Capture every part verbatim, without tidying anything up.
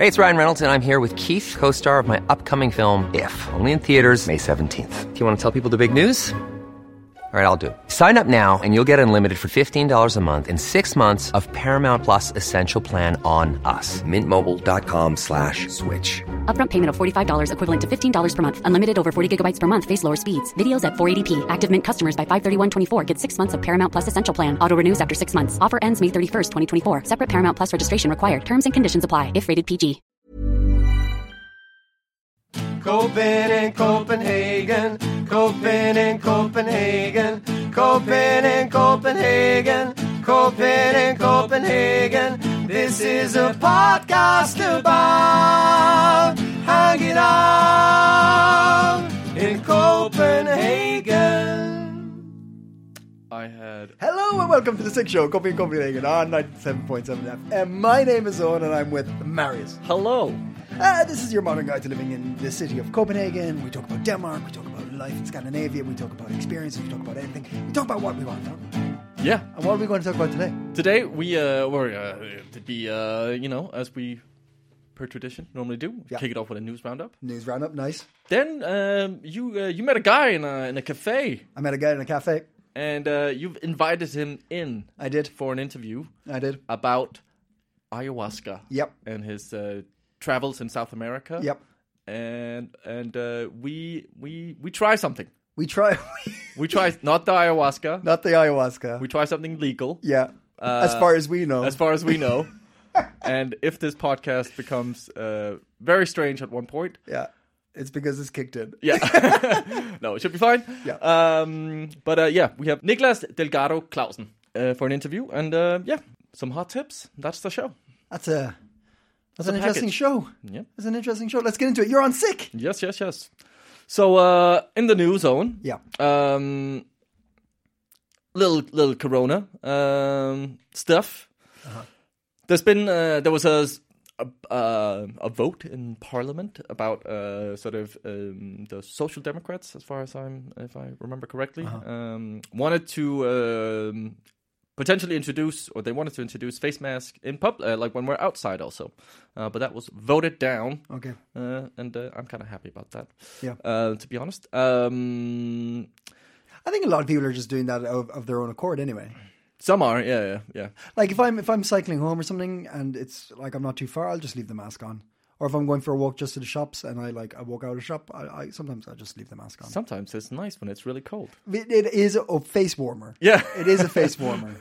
Hey, it's Ryan Reynolds, and I'm here with Keith, co-star of my upcoming film, If, only in theaters May seventeenth. Do you want to tell people the big news? All right, I'll do it. Sign up now and you'll get unlimited for fifteen dollars a month and six months of Paramount Plus Essential Plan on us. Mintmobile.com slash switch. Upfront payment of forty-five dollars equivalent to fifteen dollars per month. Unlimited over forty gigabytes per month. Face lower speeds. Videos at four eighty p. Active Mint customers by five thirty-one twenty-four get six months of Paramount Plus Essential Plan. Auto renews after six months. Offer ends May thirty-first, twenty twenty-four. Separate Paramount Plus registration required. Terms and conditions apply if rated P G. Copen Copenhagen, Copen Copenhagen, Copen Copenhagen, Copen Copenhagen. This is a podcast about hanging out in Copenhagen. I had... Hello and welcome to the Sick Show, Copenhagen Copenhagen on ninety-seven point seven F M. My name is Owen and I'm with Marius. Hello. Uh, this is your modern guide to living in the city of Copenhagen. We talk about Denmark, we talk about life in Scandinavia, we talk about experiences, we talk about anything. We talk about what we want to talk about. Yeah. And what are we going to talk about today? Today we uh, were uh, to be uh, you know, as we per tradition normally do, yeah. kick it off with a news roundup. News roundup, nice. Then um, you uh, you met a guy in a in a cafe. I met a guy in a cafe, and uh, you've invited him in. I did for an interview. I did about ayahuasca. Yep. And his uh, travels in South America. Yep. And and uh, we we we try something. We try. we try not the ayahuasca. Not the ayahuasca. We try something legal. Yeah. Uh, as far as we know. As far as we know. And if this podcast becomes uh, very strange at one point. Yeah. It's because it's kicked in. Yeah. No, it should be fine. Yeah. Um, but uh, yeah, we have Niklas Delgado Clausen uh, for an interview. And uh, yeah, some hot tips. That's the show. That's a... That's an a interesting package. show. Yeah. That's an interesting show. Let's get into it. You're on sick. Yes, yes, yes. So, uh, in the news zone. Yeah. Um, little, little Corona, um, stuff. Uh-huh. There's been, uh, there was a, a, uh, a vote in Parliament about, uh, sort of, um, the Social Democrats, as far as I'm, if I remember correctly, uh-huh. um, wanted to, um, potentially introduce, or they wanted to introduce face masks in public, uh, like when we're outside also. Uh, but that was voted down. Okay. Uh, and uh, I'm kind of happy about that. Yeah. Uh, to be honest. Um, I think a lot of people are just doing that of, of their own accord anyway. Some are, yeah, yeah, yeah. Like if I'm if I'm cycling home or something and it's like I'm not too far, I'll just leave the mask on. Or if I'm going for a walk just to the shops and I like I walk out of the shop, I, I sometimes I just leave the mask on. Sometimes it's nice when it's really cold. It, it is a face warmer. Yeah, it is a face warmer.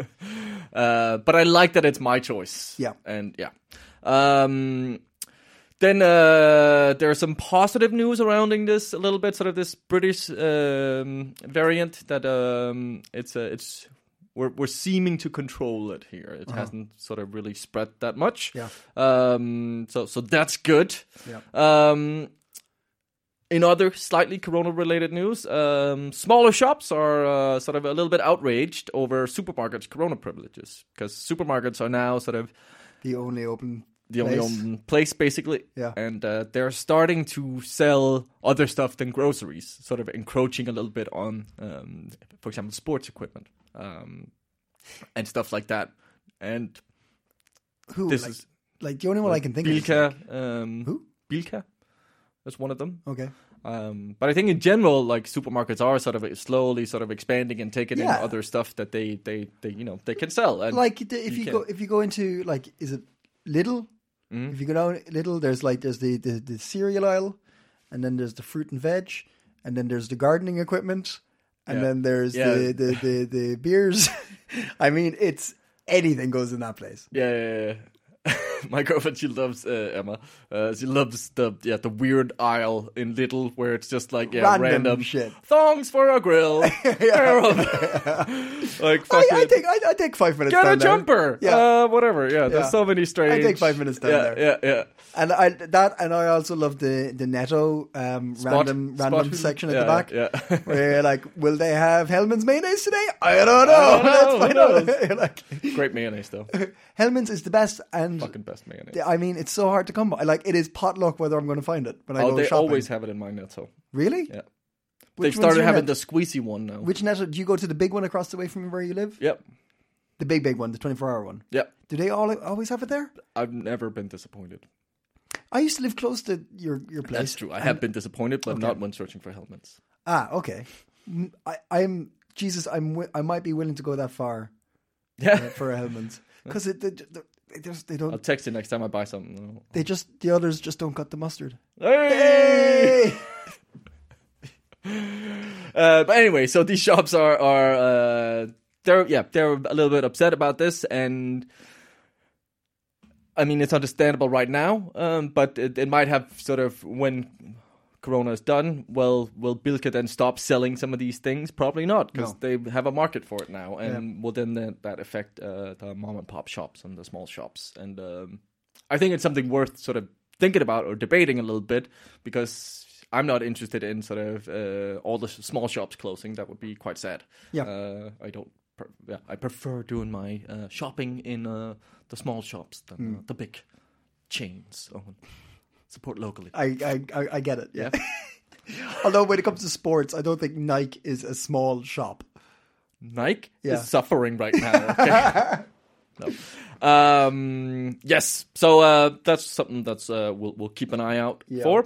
uh, but I like that it's my choice. Yeah, and yeah. Um, then uh, there's some positive news surrounding this a little bit. Sort of this British um, variant that um, it's uh, it's. We're we're seeming to control it here. It uh-huh. hasn't sort of really spread that much. Yeah. Um. So so that's good. Yeah. Um. In other slightly Corona-related news, um, smaller shops are uh, sort of a little bit outraged over supermarkets' Corona privileges because supermarkets are now sort of the only open. The only place. open place, basically. Yeah. And uh, they're starting to sell other stuff than groceries, sort of encroaching a little bit on, um, for example, sports equipment um, and stuff like that. And who? This like, is like the only one I can think Bilka, of. Is like, um, who? Bilka. That's one of them. Okay. Um, but I think in general, like supermarkets are sort of slowly sort of expanding and taking yeah. in other stuff that they, they, they, you know, they can sell. And like if you, you go if you go into like is it Lidl? Mm-hmm. If you go down Lidl, there's like there's the, the, the cereal aisle, and then there's the fruit and veg, and then there's the gardening equipment, and yeah. then there's yeah. the, the, the, the beers. I mean, it's anything goes in that place. Yeah, yeah, yeah. My girlfriend, she loves uh, Emma. Uh, she loves the yeah the weird aisle in Lidl where it's just like yeah random, random shit. Thongs for a grill. Like I, I take I, I take five minutes. Get down a jumper. There. Yeah, uh, whatever. Yeah, there's yeah. so many strange. I take five minutes down yeah, there. Yeah, yeah. And I that and I also love the the Netto um, Spot, random spot random food. section at yeah, the back. Yeah. Where you're like, will they have Hellman's mayonnaise today? I don't know. I don't Let's know. find Who out. knows? You're like, Great mayonnaise though. Hellman's is the best and Fucking best mayonnaise. I mean, it's so hard to come by. Like, it is potluck whether I'm going to find it when I oh, go they shopping. always have it in my Netto. Really? Yeah. Which They've started one's your having net? the squeezy one now. Which Netto? Do you go to the big one across the way from where you live? Yep. The big, big one, the twenty-four hour one. Yep. Do they all always have it there? I've never been disappointed. I used to live close to your your place. That's true. I have been disappointed, but okay. not when searching for helmets. Ah, okay. Mm, I, I'm Jesus. I'm. wi- I might be willing to go that far Yeah. uh, for a helmet because it, they, they, they just they don't. I'll text you next time I buy something. They just the others just don't cut the mustard. Hey! uh, but anyway, so these shops are are uh, they're yeah they're a little bit upset about this, and I mean it's understandable right now, um, but it, it might have sort of when Corona is done. Well, will Bilka then stop selling some of these things? Probably not, because No. they have a market for it now, and Yeah. will then that, that affect uh, the mom and pop shops and the small shops? And um, I think it's something worth sort of thinking about or debating a little bit, because I'm not interested in sort of uh, all the small shops closing. That would be quite sad. Yeah. uh, I don't. Per- yeah, I prefer doing my uh, shopping in uh, the small shops than uh, the big chains. So support locally. I I I, I get it. Yeah. Although when it comes to sports, I don't think Nike is a small shop. Nike Yeah. is suffering right now. Okay? no. Um, yes. So uh, that's something that's uh, we'll we'll keep an eye out Yeah. for.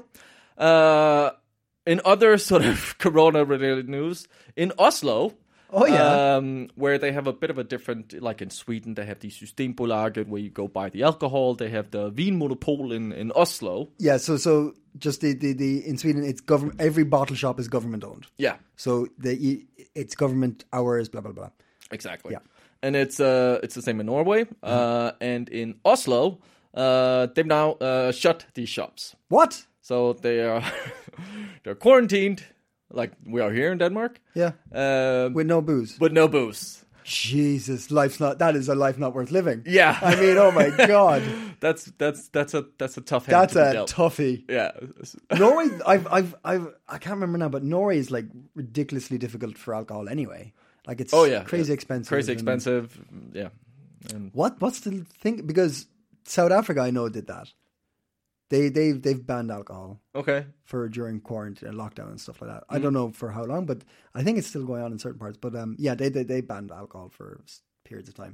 Uh, in other sort of Corona-related news, in Oslo. Oh, yeah. Um, where they have a bit of a different, like in Sweden, they have the Systembolaget where you go buy the alcohol. They have the Vinmonopol in, in Oslo. Yeah, so so just the, the, the in Sweden, it's government. Every bottle shop is government owned. Yeah, So the it's government hours, blah blah blah. exactly. Yeah. And it's uh it's the same in Norway. Uh, and in Oslo, uh, they've now uh, shut these shops. What? So they are they're quarantined, like we are here in Denmark. Yeah, Um, with no booze. with no booze. Jesus, life's not. That is a life not worth living. Yeah. I mean, oh my god, That's that's that's a that's a tough hand that's to be a dealt. toughie. Yeah. Norway, I've, I've, I've, I can't remember now, but Norway is like ridiculously difficult for alcohol anyway. Like it's Oh yeah, crazy yeah. expensive. Crazy and- expensive. Yeah. And What? What's the thing? Because South Africa, I know, did that. They they they've banned alcohol okay. for during quarantine and lockdown and stuff like that. I don't know for how long, but I think it's still going on in certain parts. But um, yeah, they they, they banned alcohol for s- periods of time.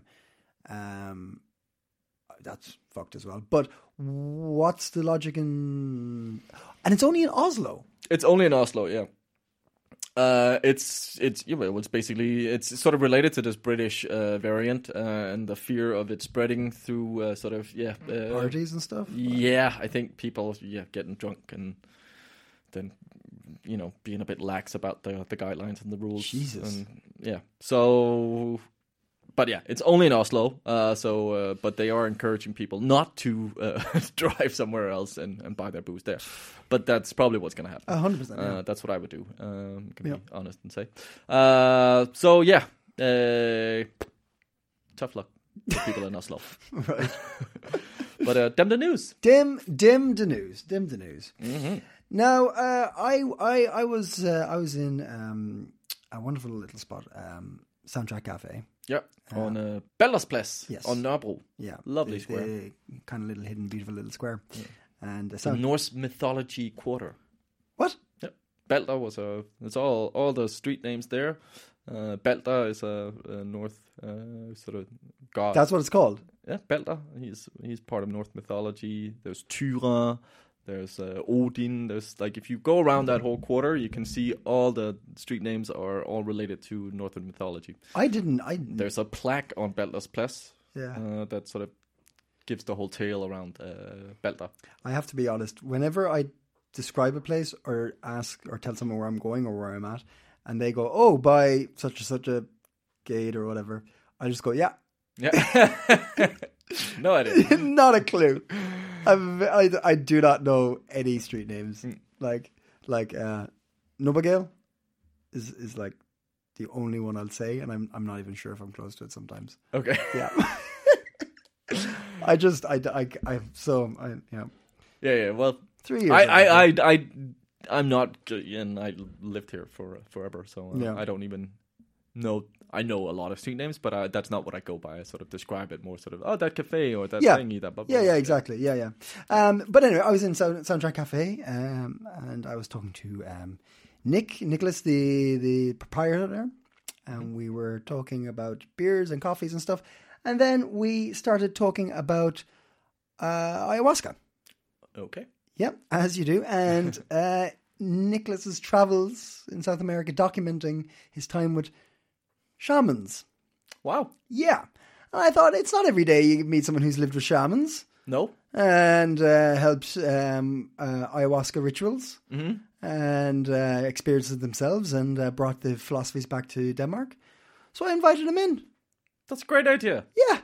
Um, that's fucked as well. But what's the logic in? And it's only in Oslo. It's only in Oslo, yeah. Uh, it's it's you know, it's basically it's sort of related to this British uh, variant uh, and the fear of it spreading through uh, sort of yeah uh, Parties and stuff. Yeah, I think people yeah getting drunk and then you know being a bit lax about the the guidelines and the rules. Jesus. And, yeah. So, but yeah, it's only in Oslo. Uh, so, uh, but they are encouraging people not to uh, drive somewhere else and, and buy their booze there. But that's probably what's going to happen. A hundred percent. yeah. Uh, that's what I would do. Um, can Yeah. be honest and say. Uh, so yeah, uh, tough luck to people in Oslo. Right. But uh, them the news. Dim, dim the news. Dim the news. Mm-hmm. Now, uh, I, I, I was, uh, I was in um, a wonderful little spot, um, Soundtrack Cafe. Yeah, on uh, Baldersplads Yes. on Nørrebro. Yeah, Lovely the, square. the kind of little hidden, beautiful little square. And uh, The sound- Norse mythology quarter. what? Yeah, Balder was a. It's all all the street names there. Uh, Balder is a, a North uh, sort of god. That's what it's called. Yeah, Balder. He's he's part of Norse mythology. There's Tyra. There's uh, Odin. There's like if you go around that whole quarter, you can see all the street names are all related to Northern mythology. I didn't. I There's a plaque on Balder's Place yeah. uh, that sort of gives the whole tale around uh, Balder. I have to be honest. Whenever I describe a place or ask or tell someone where I'm going or where I'm at, and they go, "Oh, by such and such a gate or whatever," I just go, "Yeah." Yeah. No, I didn't. Not a clue. I'm, I I do not know any street names. Mm. Like like uh, Nobagale is is like the only one I'll say, and I'm I'm not even sure if I'm close to it sometimes. Okay. Yeah. I just I I, I so I yeah Yeah, yeah. Well, three years. I, ago. I, I, I, I'm not, and I lived here for forever, so uh, Yeah. I don't even know. I know a lot of street names, but I, that's not what I go by. I sort of describe it more, sort of, oh, that cafe or that Yeah. thingy, that. Blah, blah, Yeah, blah. yeah, exactly. Yeah, yeah. Um, but anyway, I was in Sound, Soundtrack Cafe, um, and I was talking to um, Nick, Nicholas, the the proprietor there, and we were talking about beers and coffees and stuff, and then we started talking about uh, ayahuasca. Okay. Yeah, as you do. And uh, Nicholas's travels in South America documenting his time with shamans. Wow. Yeah. And I thought it's not every day you meet someone who's lived with shamans No. and uh, helped um, uh, ayahuasca rituals Mm-hmm. and uh, experienced it themselves and uh, brought the philosophies back to Denmark. So I invited him in. That's a great idea. Yeah.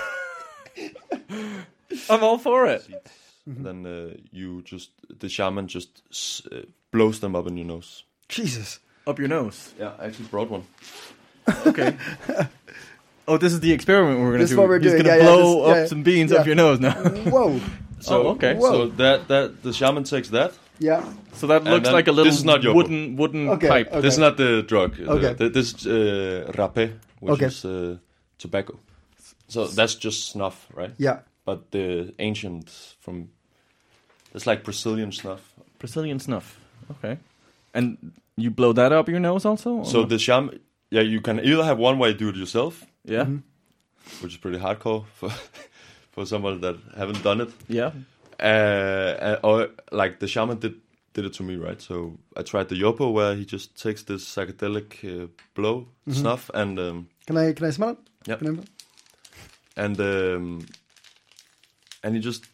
I'm all for it. Mm-hmm. Then uh, you just the shaman just uh, blows them up in your nose. Jesus. Up your nose. Yeah, I actually brought one. Okay. Oh, this is the experiment we're going to This do. is what we're He's doing. going to Yeah, yeah, blow this- up yeah, some beans yeah. up your nose now. Whoa. So, Oh, okay. So that that the shaman takes that. Yeah. So that looks then- like a little this is not your wooden wooden Okay, pipe. okay. This is not the drug. Okay. The, this is uh, rapé, which Okay. is uh, tobacco. So that's just snuff, right? Yeah. But the ancient from it's like Brazilian snuff. Brazilian snuff. Okay. And you blow that up your nose also? or So not? the shaman, yeah, you can either have one way you do it yourself, Yeah. which is pretty hardcore for for someone that haven't done it. Yeah. Uh, uh, or like the shaman did did it to me, right? So I tried the yopo where he just takes this psychedelic uh, blow snuff and um, Can I can I smell it? Yep. Can I- and um, and you just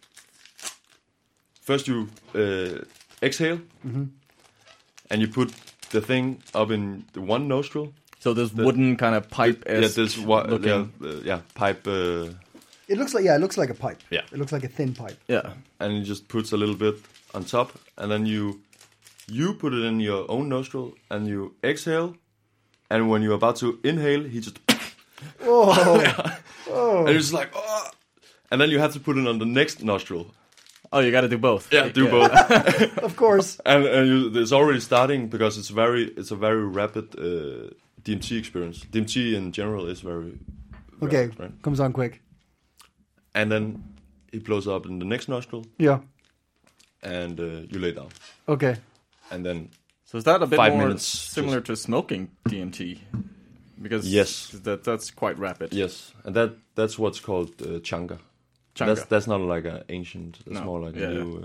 first you uh, exhale and you put the thing up in the one nostril. So this wooden kind of pipe Yeah, is this wa- yeah, looking. uh, yeah pipe. Uh, It looks like yeah, it looks like a pipe. Yeah. It looks like a thin pipe. Yeah. and he just puts a little bit on top, and then you you put it in your own nostril, and you exhale, and when you're about to inhale, he just Oh. and it's like oh, and then you have to put it on the next nostril. Oh, you got to do both. Yeah, do both, Of course. and and you, it's already starting because it's very it's a very rapid uh, D M T experience. D M T in general is very Okay. rapid, right? Comes on quick. And then it blows up in the next nostril, Yeah. and uh, you lay down, Okay. and then So is that a bit Five more minutes, similar to smoking D M T? Because Yes. that that's quite rapid. yes, and that that's what's called uh, changa. Changa. That's that's not like an ancient. That's No. more like Yeah, a yeah. new. Uh,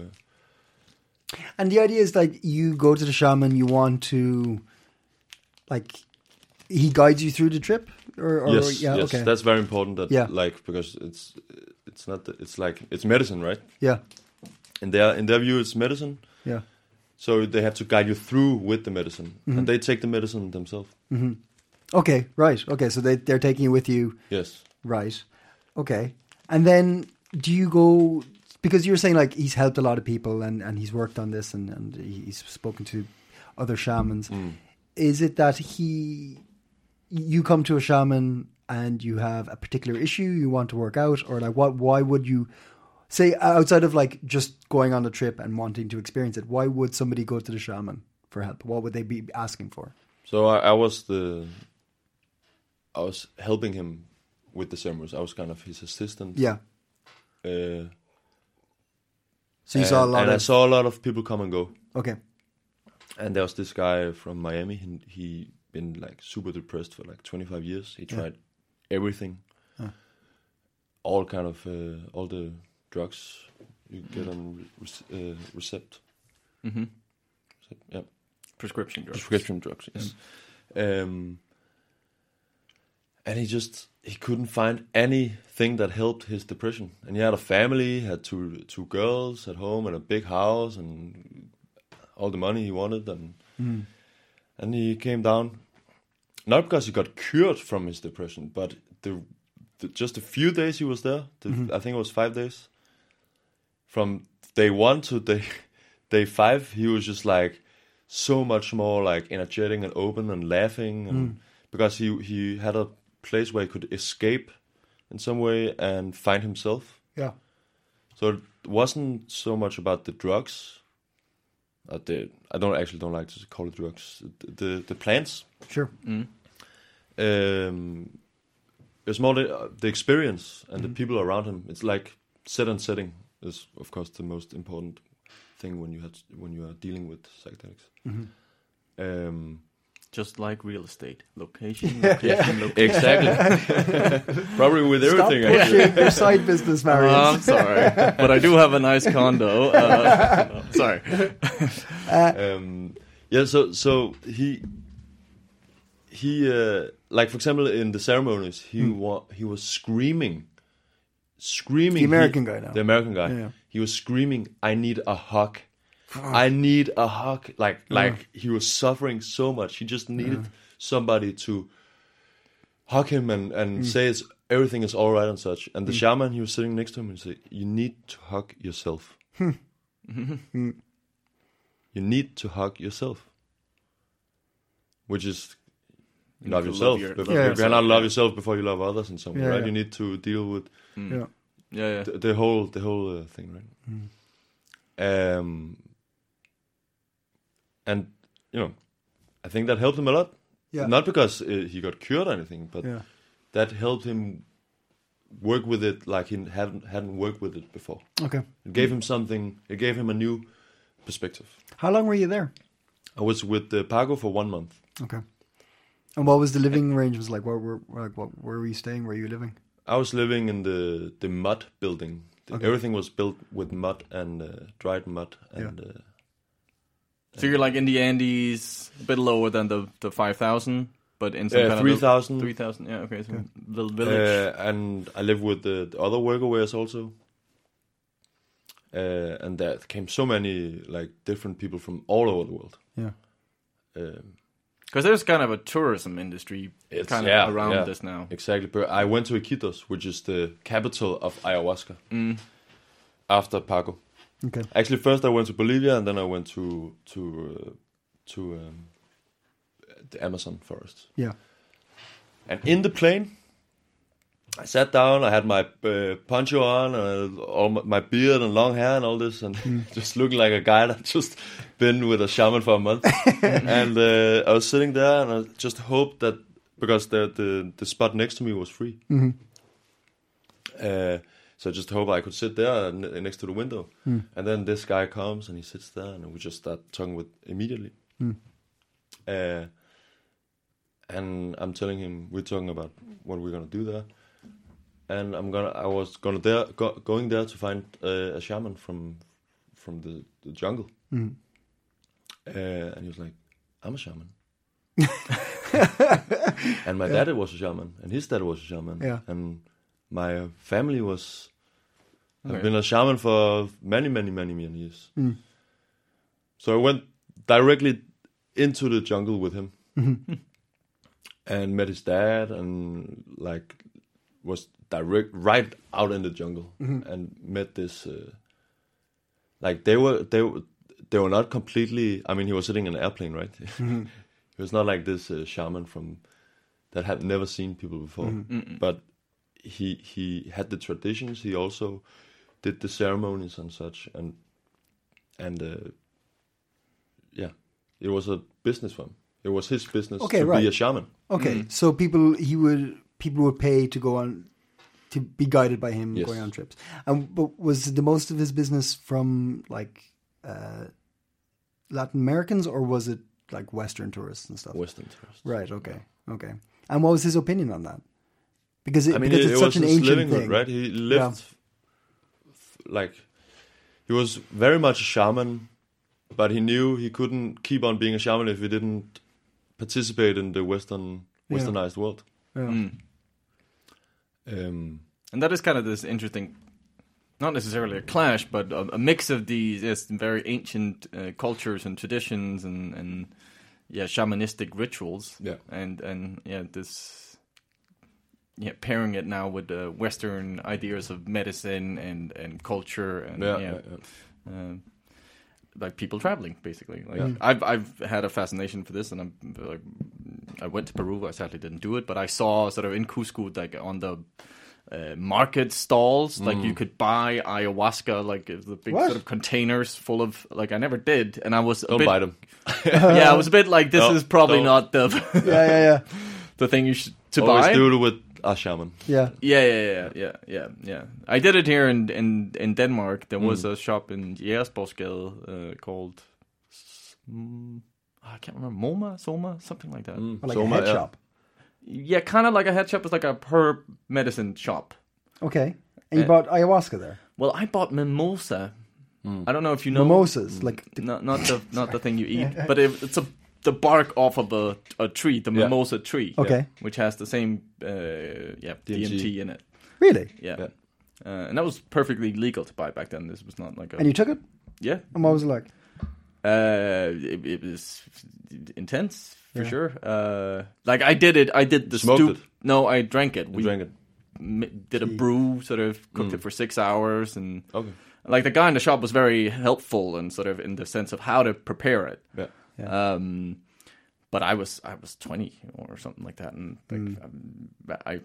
And the idea is like you go to the shaman, you want to, like, he guides you through the trip, or, or yes, yeah, yes, okay, that's very important. That Yeah. like because it's it's not the, it's like it's medicine, right? yeah, In their in their view, it's medicine. yeah, So they have to guide you through with the medicine, Mm-hmm. and they take the medicine themselves. okay, right, okay, so they they're taking you with you, Yes. right, okay, and then do you go because you're saying like he's helped a lot of people and and he's worked on this and and he's spoken to other shamans. Is it that he you come to a shaman and you have a particular issue you want to work out, or like what? Why would you say outside of like just going on a trip and wanting to experience it? Why would somebody go to the shaman for help? What would they be asking for? So I, I was the. I was helping him with the ceremonies. I was kind of his assistant. Yeah. Uh, So you and, saw a lot and of I saw a lot of people come and go. okay. And there was this guy from Miami. He he been like super depressed for like twenty-five years. He tried everything, all kind of uh, all the drugs you get on re- uh, recept. Mm-hmm. So, yeah, Prescription drugs. prescription drugs. Yes. Um, and he just he couldn't find anything that helped his depression. And he had a family, had two two girls at home, and a big house, and all the money he wanted, and and he came down, not because he got cured from his depression, but the, the just a few days he was there, the, I think it was five days, from day one to day day five, he was just like so much more like energetic and open and laughing, and because he he had a place where he could escape in some way and find himself. Yeah. So it wasn't so much about the drugs. Uh, the, I don't actually don't like to call it drugs. The the, the plants. Sure. Um, it's more the, uh, the experience and the people around him. It's like set and setting is of course the most important thing when you have when you are dealing with psychedelics. Um, Just like real estate, location, location, location. Exactly. Probably with Stop everything. pushing Actually. your side business, Oh, Marius. I'm sorry, but I do have a nice condo. Uh, no, sorry. um, yeah. So so he he uh, like for example in the ceremonies he Hmm. wa- he was screaming, screaming. The American he- guy now. The American guy. Yeah. He was screaming, "I need a hug. I need a hug." Like like he was suffering so much. He just needed somebody to hug him and and Hmm. say it's, everything is all right and such. And the shaman, he was sitting next to him and said, "You need to hug yourself. You need to hug yourself." Which is You love need to yourself. love your- But Yeah. you cannot love yourself before you love others in some way, Yeah, right? yeah. You need to deal with Yeah. Yeah, yeah. the, the whole the whole uh, thing, right? Um, and you know, I think that helped him a lot. Yeah. Not because uh, he got cured or anything, but Yeah. that helped him work with it like he hadn't hadn't worked with it before. Okay. It gave him something. It gave him a new perspective. How long were you there? I was with the Pago for one month. Okay. And what was the living arrangements like? Where were like what? Where were you staying? Where were you living? I was living in the the mud building. The, Okay. Everything was built with mud and uh, dried mud and. Uh, So you're like in the Andes, a bit lower than the the five thousand, but in some Uh, kind three of thousand. three thousand. Yeah, okay, so little village. Uh, and I live with the, the other workaways also. Uh, and there came so many like different people from all over the world. Yeah. Um, Because there's kind of a tourism industry It's- kind of yeah, around yeah. this now. exactly. But I went to Iquitos, which is the capital of ayahuasca. After Pago. Okay. Actually, first I went to Bolivia, and then I went to to uh, to um, the Amazon forest. Yeah. And in the plane, I sat down. I had my uh, poncho on, and all my, my beard and long hair and all this, and just looking like a guy that just been with a shaman for a month. And uh, I was sitting there, and I just hoped that because the the, the spot next to me was free. Uh, so I just hope I could sit there n- next to the window. And then this guy comes and he sits there, and we just start talking with immediately. Uh, and I'm telling him we're talking about what we're gonna do there. And I'm gonna. I was gonna there go, going there to find uh, a shaman from from the, the jungle. Uh, and he was like, "I'm a shaman." And my dad was a shaman, and his dad was a shaman. Yeah. And my family was have Okay. been a shaman for many, many, many, many years. So I went directly into the jungle with him, and met his dad, and like was direct right out in the jungle, and met this. Uh, like they were, they were, they were not completely. I mean, he was sitting in an airplane, right? He was not like this uh, shaman from that had never seen people before, but he he had the traditions. He also did the ceremonies and such, and and uh, yeah, it was a business for him. It was his business Okay, to right. be a shaman. Okay. So people he would people would pay to go on to be guided by him Yes. going on trips. And but was the most of his business from like uh, Latin Americans, or was it like Western tourists and stuff? Western tourist. Right. Okay. Okay. And what was his opinion on that? Because it, I mean, because it, it's it was such an his ancient livelihood, thing, right? He lived Yeah. f- like he was very much a shaman, but he knew he couldn't keep on being a shaman if he didn't participate in the Western Westernized world. Yeah. Um, And that is kind of this interesting, not necessarily a clash, but a, a mix of these yes, very ancient uh, cultures and traditions and, and yeah, shamanistic rituals. Yeah. And and yeah, this yeah, pairing it now with the Western ideas of medicine and, and culture and yeah, yeah, yeah, yeah. Uh, like people traveling, basically. Like Yeah. I've I've had a fascination for this, and I'm like, I went to Peru. I sadly didn't do it, but I saw sort of in Cusco, like on the uh, market stalls, like Mm. you could buy ayahuasca, like uh, the big What? sort of containers full of. Like I never did, and I was a Don't bit, buy them. Yeah, I was a bit like, this No, is probably don't. not the Yeah. Yeah. Yeah. the thing you should to Always buy. do it with a shaman. Yeah. Yeah, yeah, yeah, yeah, yeah, yeah. I did it here in in, in Denmark. There was a shop in Jægersborgsgade uh, called. Mm, I can't remember, MoMA, Soma, something like that. Mm. Or like So a my- head yeah. shop. Yeah, kind of like a head shop. It's like a herb medicine shop. Okay. And you Uh, bought ayahuasca there. Well, I bought mimosa. I don't know if you know Mimosas, like the, Not not the not the thing you eat, but it, it's a the bark off of a, a tree, the Yeah. mimosa tree. Okay. Which has the same uh, yeah D M T. D M T in it. really. Yeah. Yeah. Uh, and that was perfectly legal to buy back then. This was not like a And you took it. yeah. And what was it like? Uh, it, it was intense for Yeah. sure. Uh, like I did it. I did the Smoked stoop. it? No, I drank it. You We drank it. m- did a brew, sort of cooked it for six hours, and Okay. like the guy in the shop was very helpful and sort of in the sense of how to prepare it. Yeah. Um, but I was I was twenty or something like that, and like, um, I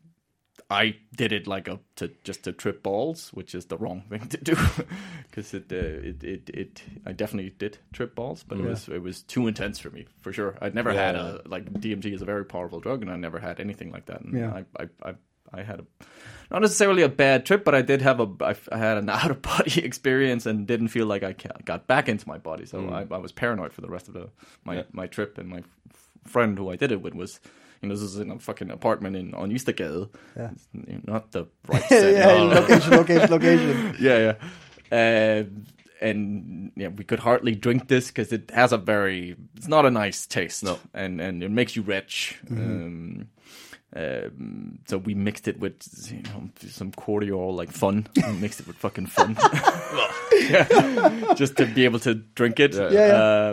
I did it like a to just to trip balls, which is the wrong thing to do, because it, uh, it it it I definitely did trip balls, but it was it was too intense for me for sure. I'd never Yeah. had a like D M T is a very powerful drug, and I never had anything like that. And Yeah. I, I I I had a not necessarily a bad trip, but I did have a I, I had an out of body experience and didn't feel like I ca- got back into my body. So I, I was paranoid for the rest of the my Yeah. my trip. And my f- friend who I did it with was, you know, this is in a fucking apartment in on Eastergade. Yeah. It's, you know, not the right set. yeah, no, no. location, location, location. yeah, yeah. Uh, and yeah, we could hardly drink this because it has a very, it's not a nice taste. No. and and it makes you rich. Um, um, so we mixed it with, you know, some cordial, like fun. We mixed it with fucking fun, yeah, just to be able to drink it. Yeah, yeah. Yeah, Uh,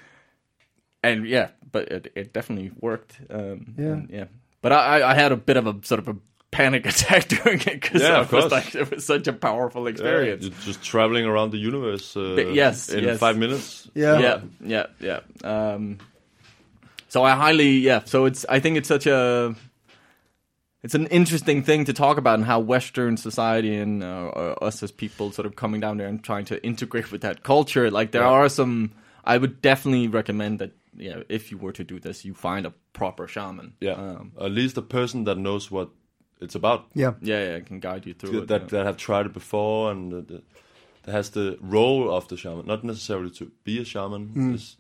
and yeah, but it, it definitely worked. Um, Yeah. and, yeah. But I, I had a bit of a sort of a panic attack during it because Yeah, I of was course. like, it was such a powerful Yeah, experience. you're just traveling around the universe. Uh, But yes, in yes. five minutes. Yeah. yeah, yeah, yeah. Um, so I highly, yeah. So it's, I think it's such a, it's an interesting thing to talk about, and how Western society and uh, us as people sort of coming down there and trying to integrate with that culture. Like there Yeah. are some, I would definitely recommend that. Yeah, if you were to do this, you find a proper shaman. Yeah. um, At least a person that knows what it's about. Yeah. yeah, yeah, can guide you through it. That yeah. that have tried it before, and that, that has the role of the shaman, not necessarily to be a shaman. It's,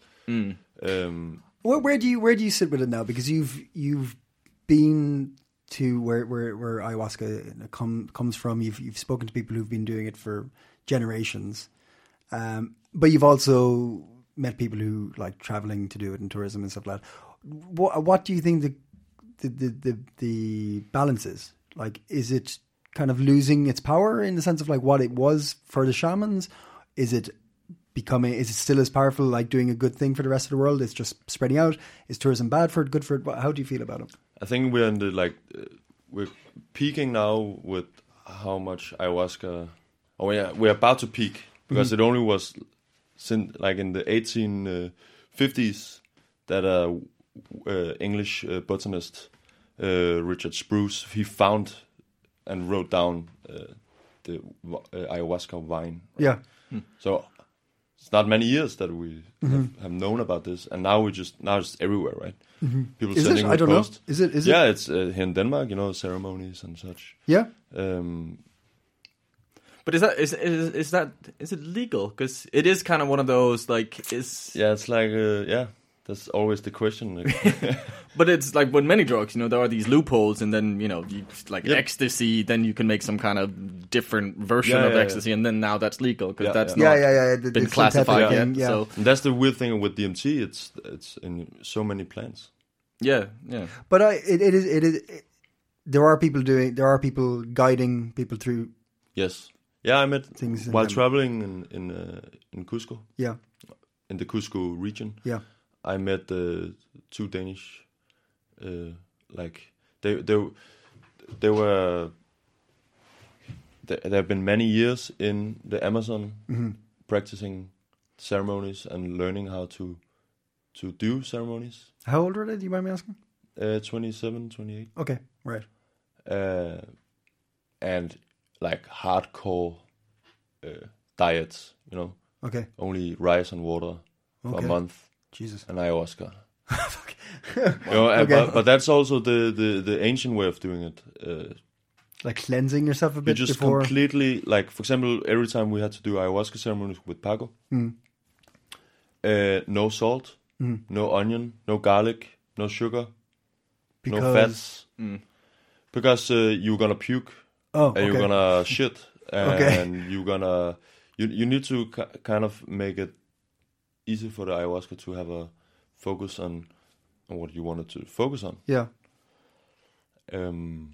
um, Where, where do you where do you sit with it now? Because you've you've been to where where, where ayahuasca come, comes from. You've you've spoken to people who've been doing it for generations, um, but you've also met people who like traveling to do it in tourism and stuff like that. What what do you think the the the the, the balance is? Like, is it kind of losing its power in the sense of like what it was for the shamans? Is it becoming, is it still as powerful, like doing a good thing for the rest of the world? It's just spreading out. Is tourism bad for it, good for it? How do you feel about it? I think we're in the like uh, we're peaking now with how much ayahuasca. Oh yeah, we're about to peak because it only was since like in the eighteen fifties that a uh, English uh, botanist uh, Richard Spruce, he found and wrote down uh, the uh, ayahuasca vine. Yeah. So it's not many years that we have, have known about this, and now we just now it's everywhere, right? People Is it? sending I don't know. requests. Is it? Is yeah, it? it's uh, here in Denmark, you know, ceremonies and such. Yeah. Um, But is that is is, is that is it legal? Because it is kind of one of those like is yeah, it's like uh, yeah, that's always the question. But it's like with many drugs, you know, there are these loopholes, and then you know, you, like Yep. ecstasy, then you can make some kind of different version Yeah, of yeah, ecstasy, and then now that's legal because Yeah, that's yeah. not Yeah, yeah, yeah. The, been the classified synthetic yet. thing, yeah. So and that's the weird thing with D M T. It's it's in so many plants. yeah, yeah, But I, it, it is, it is. It, there are people doing. There are people guiding people through. Yes. Yeah, I met Things in while them. traveling in in uh, in Cusco, Yeah, in the Cusco region. yeah, I met uh, two Danish, uh, like they they they were. There there have been many years in the Amazon practicing ceremonies and learning how to to do ceremonies. How old are they? Do you mind me asking? Uh, twenty-seven, twenty-eight. Okay, right. Uh, and like hardcore uh, diets, you know, Okay, only rice and water for Okay. a month Jesus. and ayahuasca. You know, and- Okay. but, but that's also the, the, the ancient way of doing it. Uh, Like cleansing yourself a you bit just before. completely, like, for example, every time we had to do ayahuasca ceremonies with Paco, Mm. uh, no salt, Mm. no onion, no garlic, no sugar, Because no fats. Because uh, you're gonna puke oh, and okay. you're gonna shit, and Okay. you're gonna you you need to ki- kind of make it easy for the ayahuasca to have a focus on, on what you wanted to focus on. yeah. Um,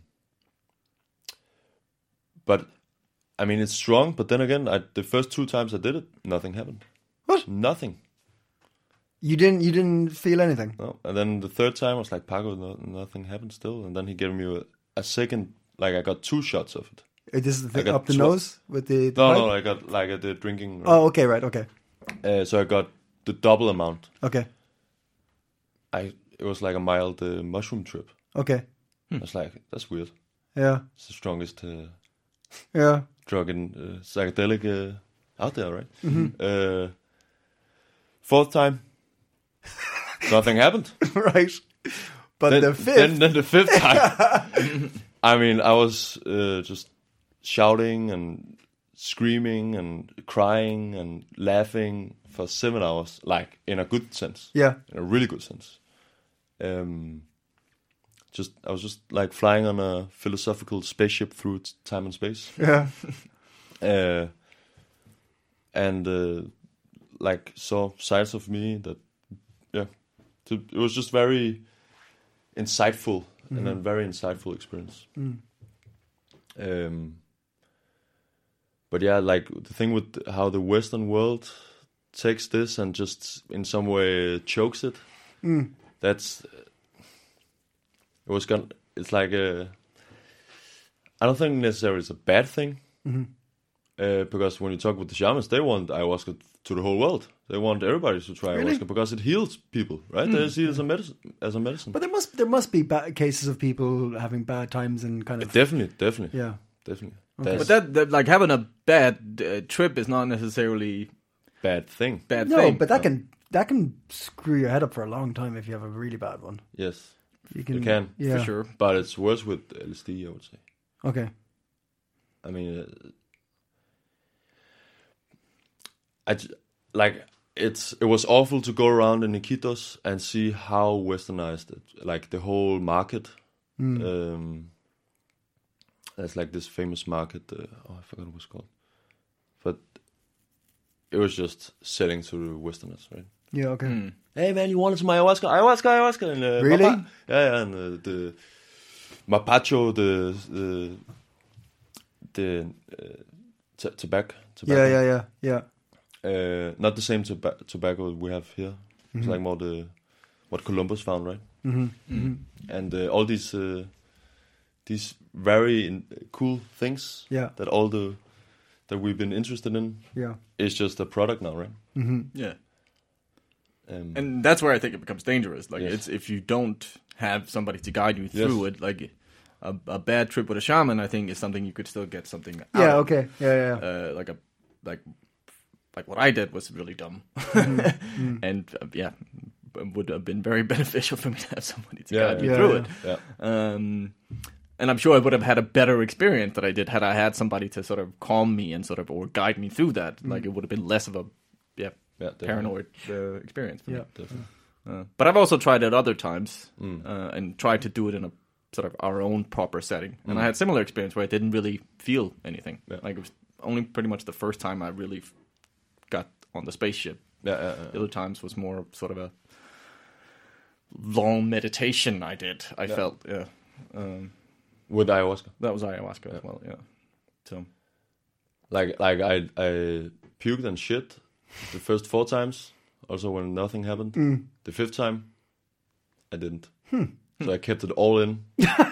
but I mean, it's strong. But then again, I, the first two times I did it, nothing happened. What? Nothing. You didn't you didn't feel anything. No. And then the third time, I was like, Paco, no, nothing happened still. And then he gave me a, a second. Like I got two shots of it. Uh, This is the thing got up the tw- nose with the, the No, pipe? no, I got like at the drinking. Right? Oh, okay, right, okay, Uh, so I got the double amount. okay, I it was like a mild uh, mushroom trip. okay. I was like, that's weird. Yeah, It's the strongest uh, yeah. drug in uh, psychedelic uh, out there, right? Mm-hmm. Uh, fourth time, nothing happened. Right. But then, the fifth. Then, then the fifth time. I mean, I was uh, just shouting and screaming and crying and laughing for seven hours, like in a good sense. Yeah. In a really good sense. Um, just I was just like flying on a philosophical spaceship through t- time and space. Yeah. Uh, and uh, like saw sides of me that, yeah, to, it was just very insightful and a very insightful experience. Um, but yeah, like the thing with how the Western world takes this and just in some way chokes it. That's it was gonna. It's like a. I don't think necessarily it's a bad thing. Uh, because when you talk with the shamans, they want ayahuasca to the whole world. They want everybody to try Really? ayahuasca because it heals people, right? They see it as a medicine. As a medicine. But there must there must be bad cases of people having bad times and kind of Definitely, definitely, yeah. definitely. But That's that, that, like having a bad uh, trip is not necessarily bad thing. bad No, thing. but that can that can screw your head up for a long time if you have a really bad one. Yes, You can, you can yeah. for sure. but it's worse with L S D, I would say. Okay. I mean, uh, I j- like it's it was awful to go around in Iquitos and see how westernized it, like the whole market. Um, there's like this famous market. Uh, oh, I forgot what it was called, but it was just selling to the Westerners, right? Yeah. Okay. Hey man, you wanted some ayahuasca? Ayahuasca, ayahuasca, and uh, Really? Mapa- yeah, yeah, and uh, the mapacho, the the the uh, t- tobacco, tobacco. Yeah. Yeah. Yeah. Yeah. Uh, not the same toba- tobacco we have here. It's like more the what Columbus found, right? Mm-hmm. And uh, all these uh, these very in- cool things Yeah. that all the that we've been interested in Yeah. is just a product now, right? Yeah. Um, And that's where I think it becomes dangerous. Like Yes. it's if you don't have somebody to guide you through Yes. it. Like a, a bad trip with a shaman, I think, is something you could still get something out Yeah. of. Okay. Yeah. Yeah. yeah. Uh, like a like like what I did was really dumb, and uh, yeah, b- would have been very beneficial for me to have somebody to Yeah, guide me yeah, through yeah. it. yeah. Um, and I'm sure I would have had a better experience that I did had I had somebody to sort of calm me and sort of or guide me through that. Like it would have been less of a yeah, Yeah, definitely. paranoid uh, experience for Yeah. Definitely. me. Uh, but I've also tried it other times Mm. uh, and tried to do it in a sort of our own proper setting. And I had similar experience where I didn't really feel anything. Mm. Yeah. Like it was only pretty much the first time I really f- got on the spaceship. Yeah, yeah, yeah. The other times was more sort of a long meditation I did. I felt, yeah. Um, With ayahuasca. that was ayahuasca as well, yeah. So, Like like I I puked and shit the first four times. Also when nothing happened. The fifth time, I didn't. So I kept it all in.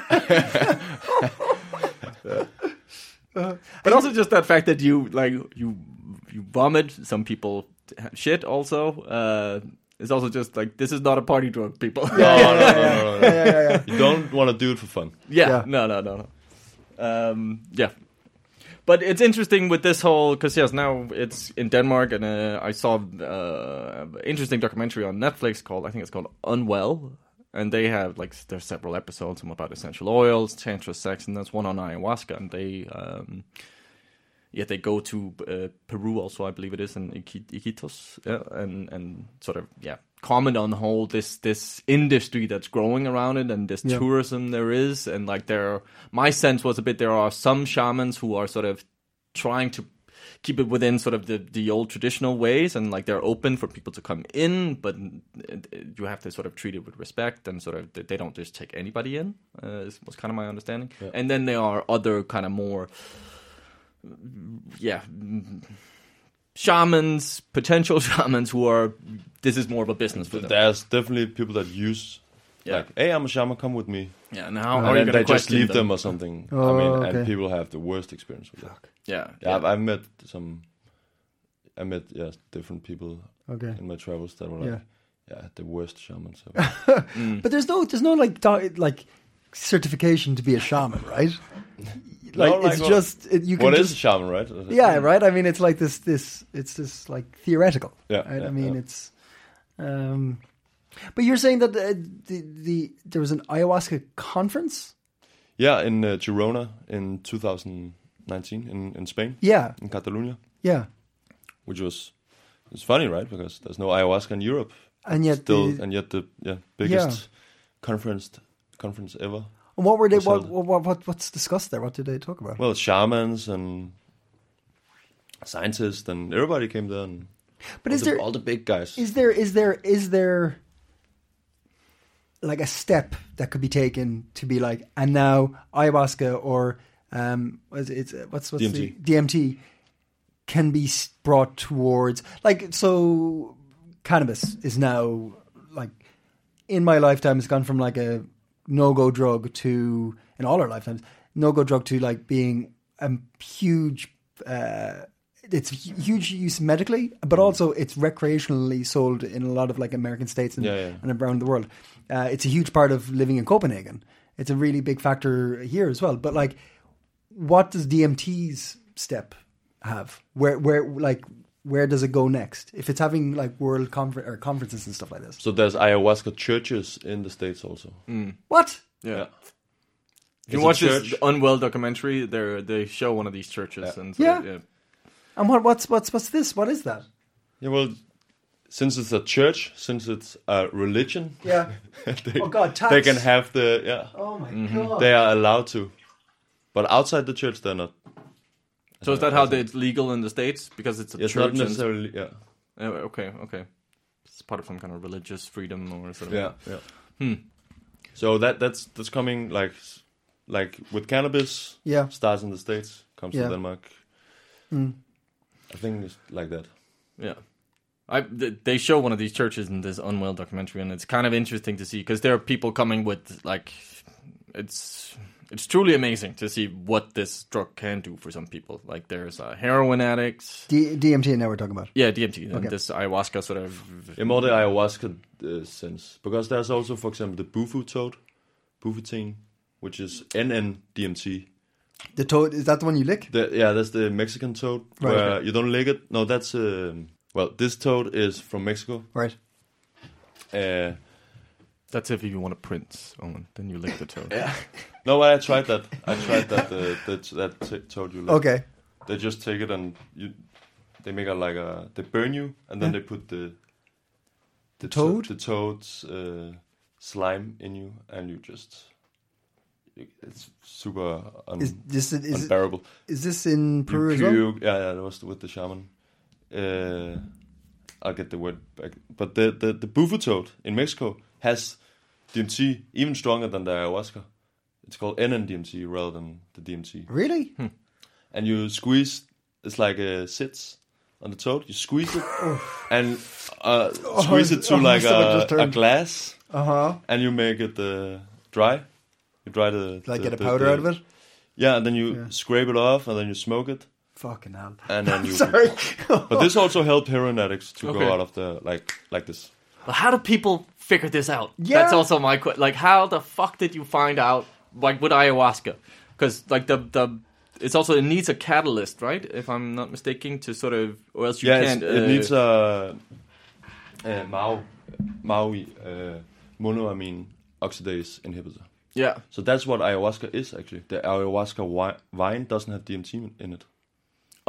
but also just that fact that you like you you vomit. Some people have shit also. Uh, it's also just like this is not a party drug, people. No, no, no, no, no. Yeah. Yeah. Yeah. You don't want to do it for fun. Yeah, Yeah. no, no, no, no. Um, yeah, but it's interesting with this whole because yes, now it's in Denmark, and uh, I saw uh, an interesting documentary on Netflix called I think it's called Unwell, and they have like there's several episodes, some about essential oils, tantra, sex, and there's one on ayahuasca, and they um, yeah, they go to uh, Peru also, I believe it is, in Iqui- Iquitos, yeah, and and sort of yeah, comment on the whole this this industry that's growing around it and this Yeah. tourism there is, and like there, my sense was a bit there are some shamans who are sort of trying to keep it within sort of the, the old traditional ways, and like they're open for people to come in, but you have to sort of treat it with respect, and sort of they don't just take anybody in. Uh, is, was kind of my understanding. Yeah. And then there are other kind of more, yeah, shamans, potential shamans who are. This is more of a business for them. There's definitely people that use, Yeah. like, hey, I'm a shaman, come with me. Yeah, and how And are you then going they to just question leave them? them or something. Oh, I mean, okay. and people have the worst experience with that. Yeah, Yeah, I've, I've met some. I met yeah different people Okay. in my travels that were like, Yeah. yeah, the worst shamans ever. But there's no there's no like do- like certification to be a shaman, right? Like No, like it's what- just it, you can What just is a shaman, right? yeah, right. I mean, it's like this this it's this like theoretical. Yeah, right? yeah, I mean, yeah. it's. Um, but you're saying that uh, the the there was an ayahuasca conference. Yeah, in uh, Girona in two thousand nineteen in, in Spain, Yeah, in Catalonia, yeah, which was it's funny, right? Because there's no ayahuasca in Europe, and yet still, the, and yet the yeah biggest Yeah. conference conference ever. and what were they? was What, held. what what what what's discussed there? What did they talk about? Well, shamans and scientists and everybody came there, and but all, is the, there all the big guys. is there is there is there like a step that could be taken to be like, and now ayahuasca or um, what is it, it's what's what's D M T. the D M T can be s- brought towards like so cannabis is now like in my lifetime it's gone from like a no-go drug to in all our lifetimes no-go drug to like being a huge uh it's hu- huge use medically, but also it's recreationally sold in a lot of like American states and, Yeah, yeah. and around the world. Uh, it's a huge part of living in Copenhagen. It's a really big factor here as well. But like, what does D M T's step have? Where, where, like, where does it go next? If it's having like world confer- or conferences and stuff like this. So there's ayahuasca churches in the States also. What? Yeah. If It's you a watch church. this Unwell documentary, they they show one of these churches, Yeah. and so, Yeah. yeah. And what, what's what's what's this? What is that? Yeah, well, since it's a church, since it's a religion, Yeah. they, Oh, God, tax. they can have the yeah, Oh my god. they are allowed to, but outside the church they're not. So is that how they- it's legal in the States because it's a It's church? not and- necessarily yeah, Yeah, okay, okay. It's part of some kind of religious freedom or sort of. yeah, yeah. So that that's that's coming like like with cannabis. Yeah. starts in the States, comes Yeah. to Denmark. I think it's like that. Yeah. I, th- they show one of these churches in this Unwell documentary, and it's kind of interesting to see because there are people coming with like, it's it's truly amazing to see what this drug can do for some people. Like there's uh, heroin addicts, D- DMT now we're talking about. yeah, D M T, and Okay. this ayahuasca sort of. In more the ayahuasca uh, sense, because there's also, for example, the bufu toad, bufutine, which is N N D M T. The toad, is that the one you lick? The, yeah, that's the Mexican toad, Right, where okay. you don't lick it. No, that's um, well, this toad is from Mexico. Right. Uh, That's if you want to print, Owen, then you lick the toad. yeah. No, but I tried that. I tried that. Uh, that that t- toad you lick. Okay. They just take it and you, they make a like a they burn you and then Yeah. they put the the Toad? the toad's uh, slime in you and you just it's super un- Is this is it, unbearable. is this in You Peru as well? puke- yeah, yeah, that was with the shaman. Uh, I'll get the word back. But the the the bufu toad in Mexico has D M T even stronger than the ayahuasca. It's called N N D M T rather than the D M T. Really? And you squeeze. It's like a sits on the toad. You squeeze it and uh, squeeze it to oh, like so it a, just a turned- glass, Uh huh. and you make it uh, dry. You dry the Like the, get a the- powder the- out of it? Yeah, and then you Yeah. scrape it off, and then you smoke it, Fucking hell. and then you. Sorry. But this also helped heroin addicts to Okay. go out of the like like this. But how do people figure this out? Yeah. That's also my question. Like, how the fuck did you find out, like, with ayahuasca? Because, like, the the it's also, it needs a catalyst, right? If I'm not mistaken, to sort of, or else you Yeah, can't. it's- it uh, needs a, a Mao Maui uh, monoamine oxidase inhibitor. Yeah. So that's what ayahuasca is actually. The ayahuasca wi- vine doesn't have D M T in it.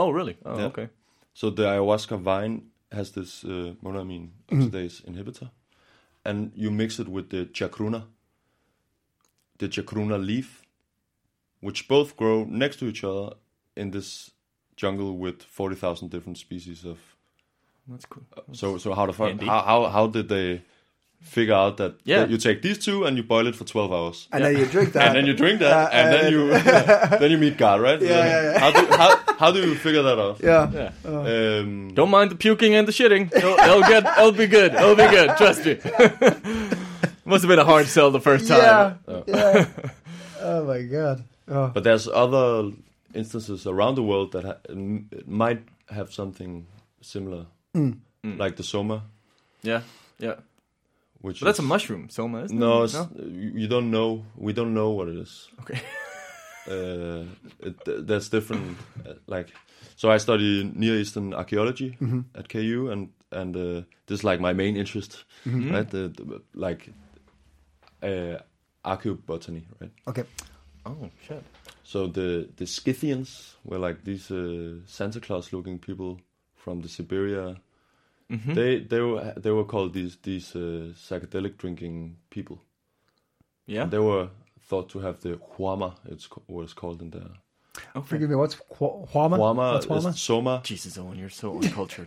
Oh, really? Oh, Yeah. okay. So the ayahuasca vine has this uh, monoamine oxidase inhibitor, and you mix it with the chacruna, the chacruna leaf, which both grow next to each other in this jungle with forty thousand different species of. That's cool. So so how the fuck, Handy. how how how did they figure out that, Yeah. that you take these two and you boil it for twelve hours? And then you drink that. And then you drink that, Uh, and then and- you then you meet God, right? Yeah, yeah, yeah. How do how, how do you figure that out? Yeah. Yeah. Um, Don't mind the puking and the shitting. It'll, it'll get. It'll be good. It'll be good. Trust me. Must have been a hard sell the first time. Yeah. Yeah. Oh my god. Oh. But there's other instances around the world that ha- m- might have something similar, like the soma, Yeah. Yeah. which But that's a is- mushroom, soma, isn't No, it? it's, you you don't know. We don't know what it is. Okay. Uh, it, there's different, uh, like, so I study Near Eastern archaeology at K U, and and uh, this is like my main interest, right? The, the, like, uh, archaeobotany, right? Okay. Oh shit. So the the Scythians were like these uh, Santa Claus looking people from the Siberia. They they were they were called these these uh, psychedelic drinking people. Yeah. And they were thought to have the huama. It's co- what it's called in there. Okay. Forgive me. What's Hua- Huama? Huama What's Huama? is soma. Jesus, Owen, you're so uncultured.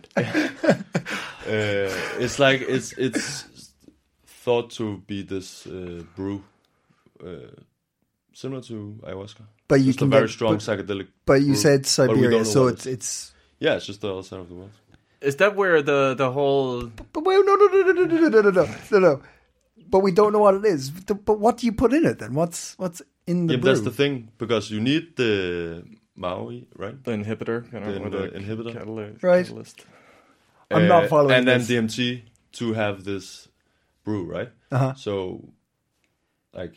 Uh, it's like it's it's thought to be this uh, brew, uh, similar to ayahuasca. But you Just a can very get- strong but- psychedelic. But you brew. said But we don't Siberia, know so what it's it is. it's. Yeah, it's just the other side of the world. Is that where the the whole? But wait, no, no, no, no, no, no, no, no, no, no, no. But we don't know what it is. The- But what do you put in it then? What's what's in the Yeah, brew? that's the thing, because you need the Maui, right? The inhibitor, kind of, The- or the the inhibitor. catalyst. Right. catalyst. I'm not following And then this. D M T to have this brew, right? Uh-huh. So, like,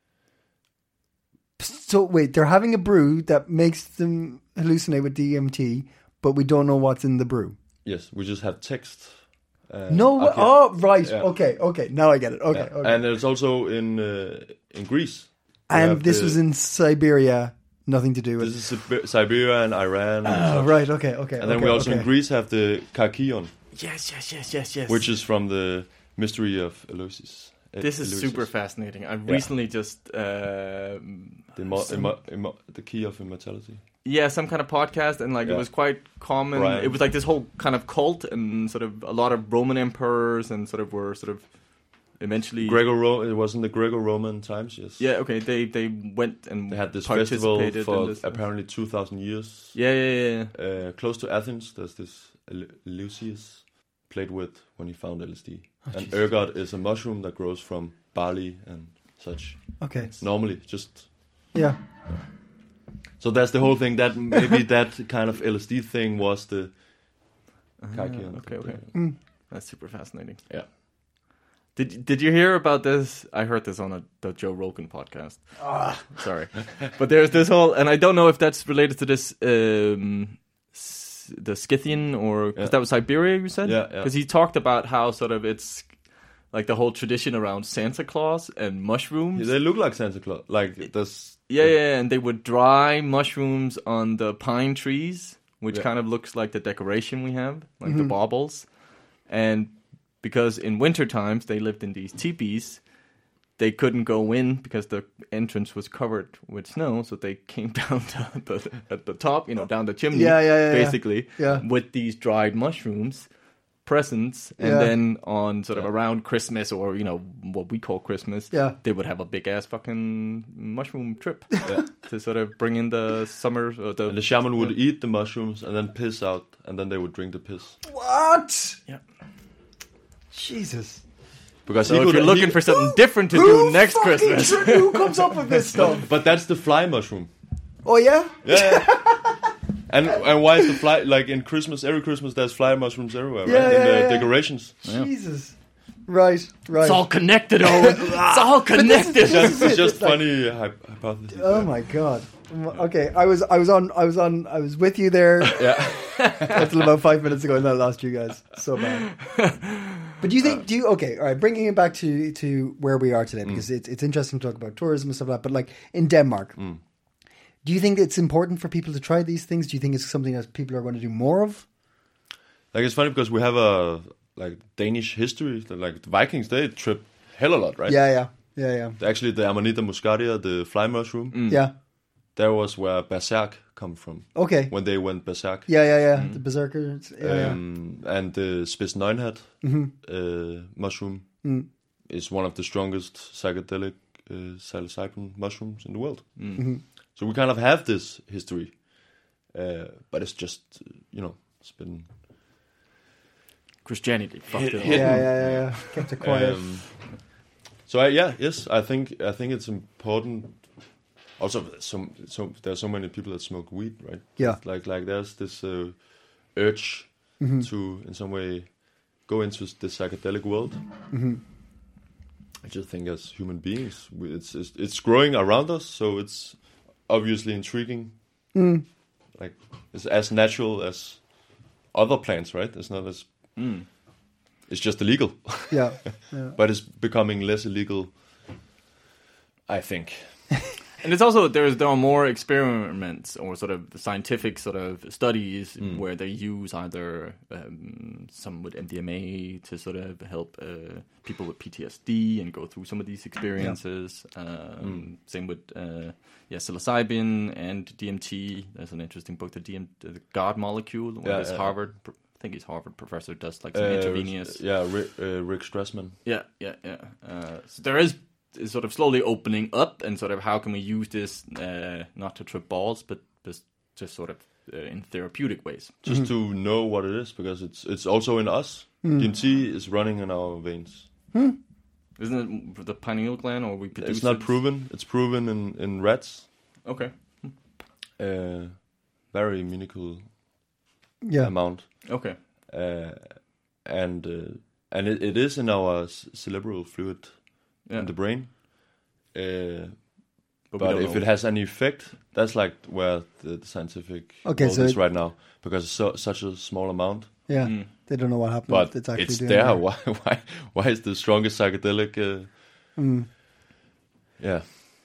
So wait, they're having a brew that makes them hallucinate with D M T, but we don't know what's in the brew. yes, we just have text. Uh, No, okay. oh right, Yeah. okay, okay. Now I get it. Okay, Yeah. okay. And it's also in uh, in Greece. We And have this the- was in Siberia, nothing to do with. This is Sib- Siberia and Iran. and Oh, stuff. right, okay, okay. And then okay, we also okay. in Greece have the Karkion, Yes, yes, yes, yes, yes. which is from the mystery of Eleusis. E- This is Eleusis. super fascinating. I've Yeah. recently just uh, The, mo- some- immo- immo- the key of immortality. yeah, some kind of podcast, and like Yeah. it was quite common. Brian. It was like this whole kind of cult, and sort of a lot of Roman emperors, and sort of were sort of eventually. Greco it was in the Greco-Roman times, yes. Yeah, okay. They they went and They had this participated festival for in this. apparently two thousand years. Yeah, yeah, yeah. Uh, close to Athens, there's this El- Eleusis played with when he found L S D. Oh, and ergot is a mushroom that grows from barley and such. Okay, Normally, just yeah. so that's the whole thing. That maybe that kind of L S D thing was the Karkion. okay, okay. Mm. That's super fascinating. Yeah. Did Did you hear about this? I heard this on a, the Joe Rogan podcast. Sorry, but there's this whole, and I don't know if that's related to this, um, s- the Scythian, or because Yeah. that was Siberia. You said, Yeah, yeah. Because he talked about how sort of it's like the whole tradition around Santa Claus and mushrooms. They look like Santa Claus. Like this. Yeah, yeah, and they would dry mushrooms on the pine trees, which Yeah. kind of looks like the decoration we have, like the baubles. And because in winter times they lived in these teepees, they couldn't go in because the entrance was covered with snow, so they came down to the, at the top, you know, down the chimney, Yeah, yeah, yeah, yeah. basically, Yeah. with these dried mushrooms, presents, and Yeah. then on sort of around Christmas, or you know what we call Christmas, Yeah. they would have a big ass fucking mushroom trip to sort of bring in the summer. Or the, And the shaman would eat the mushrooms and then piss out, and then they would drink the piss. What? Yeah. Jesus. Because So he if could, you're looking he- for something different to Who do next fucking Christmas, tr- who comes up with this stuff? But that's the fly mushroom. Oh yeah. Yeah. and and why is the fly like in Christmas? Every Christmas there's fly mushrooms everywhere, Yeah, right? In yeah, the yeah. decorations. Jesus. Right. Right. it's all connected. Owen. It's all connected. Just, it's just It's like- funny hy- hypothesis. Oh my god. Okay, I was I was on I was on I was with you there Yeah. until about five minutes ago, and then I lost you guys. So bad. But do you think? Do you okay? All right, bringing it back to to where we are today, because it's it's interesting to talk about tourism and stuff like that. But like in Denmark, do Do you think it's important for people to try these things? Do you think it's something that people are going to do more of? Like, it's funny because we have a like Danish history. That, like the Vikings, they trip hell a lot, right? Yeah, yeah, yeah, yeah. Actually, the Amanita muscaria, the fly mushroom, Mm. Yeah. there was where berserk come from. Okay. When they went berserk. Yeah, yeah, yeah. The berserkers. Yeah, Um, and the Spitsnøgenhat Mm-hmm. uh, mushroom Mm. is one of the strongest psychedelic uh, psilocybin mushrooms in the world. Mm-hmm. So we kind of have this history, uh, but it's just, uh, you know, it's been Christianity fucked it Hit- up. hit- yeah, yeah, yeah, yeah. Kept it quiet. Um, so I, yeah, yes, I think I think it's important. Also, some so there are so many people that smoke weed, right? Yeah. Like like there's this uh, urge Mm-hmm. to in some way go into the psychedelic world. Mm-hmm. I just think as human beings, we, it's, it's it's growing around us, so it's obviously intriguing. Mm. Like it's as natural as other plants, right? It's not as Mm. it's just illegal. Yeah, yeah. But it's becoming less illegal, I think. And it's also there's there are more experiments or sort of scientific sort of studies Mm. where they use either um, some with M D M A to sort of help uh, people with P T S D and go through some of these experiences. Um, Mm. Same with uh, yeah psilocybin and D M T. There's an interesting book, the D M the God Molecule, where Yeah, this yeah. Harvard. I think he's Harvard professor does like some Uh, intravenous. Yeah, Rick, uh, Rick Strassman. Yeah, yeah, yeah. Uh, so there is, is sort of slowly opening up, and sort of how can we use this uh, not to trip balls, but just, just sort of uh, in therapeutic ways. Just to know what it is, because it's it's also in us. Mm. D M T is running in our veins. Isn't it the pineal gland, or we produce It's not it? proven. It's proven in, in rats. Okay, Uh, very minuscule Yeah. amount. okay. Uh, and uh, and it, it is in our c- cerebral fluid Yeah. in the brain. Uh, But, we but don't if know. it has any effect, that's like where the, the scientific Okay, world so is it- right now, because it's so, such a small amount. Yeah. Mm. They don't know what happened. But it's actually it's doing there. it. Why? Why? Why is the strongest psychedelic? Uh, Mm. yeah,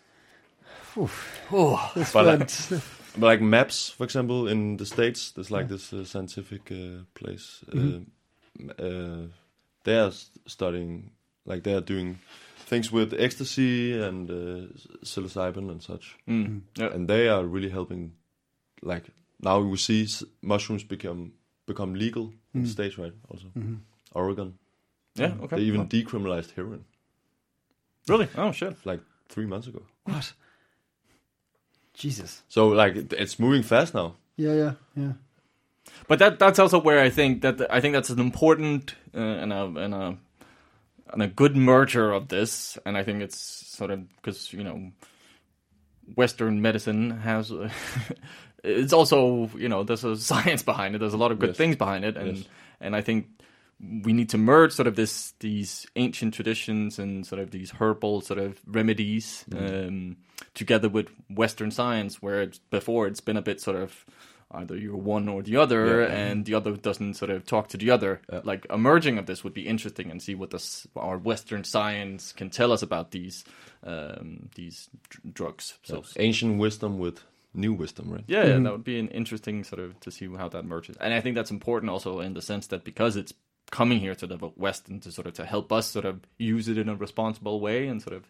This But like- went- but like MAPS, for example, in the States, there's like this uh, scientific uh, place. Mhm. Uh, uh, they are s- studying, like they are doing things with ecstasy and uh, psilocybin and such, Mm. Yeah. and they are really helping. Like now we see s- mushrooms become become legal in Mm. the States, right? Also, Mhm. Oregon. Yeah, okay. They even Well, decriminalized heroin really? Oh shit. like three months ago. What? Jesus. So like it- it's moving fast now. Yeah, yeah, yeah. But that that's also where I think that I think that's an important uh, and a and a and a good merger of this, and I think it's sort of because you know Western medicine has it's also you know there's a science behind it. There's a lot of good Yes. things behind it, and Yes. and I think we need to merge sort of this these ancient traditions and sort of these herbal sort of remedies um, together with Western science, where it's, before it's been a bit sort of either you're one or the other, Yeah. and the other doesn't sort of talk to the other. Yeah. Like a merging of this would be interesting, and see what this our Western science can tell us about these um, these dr- drugs. So So ancient wisdom with new wisdom, right? yeah, yeah, that would be an interesting sort of to see how that merges. And I think that's important also in the sense that because it's coming here to the West and to sort of to help us sort of use it in a responsible way and sort of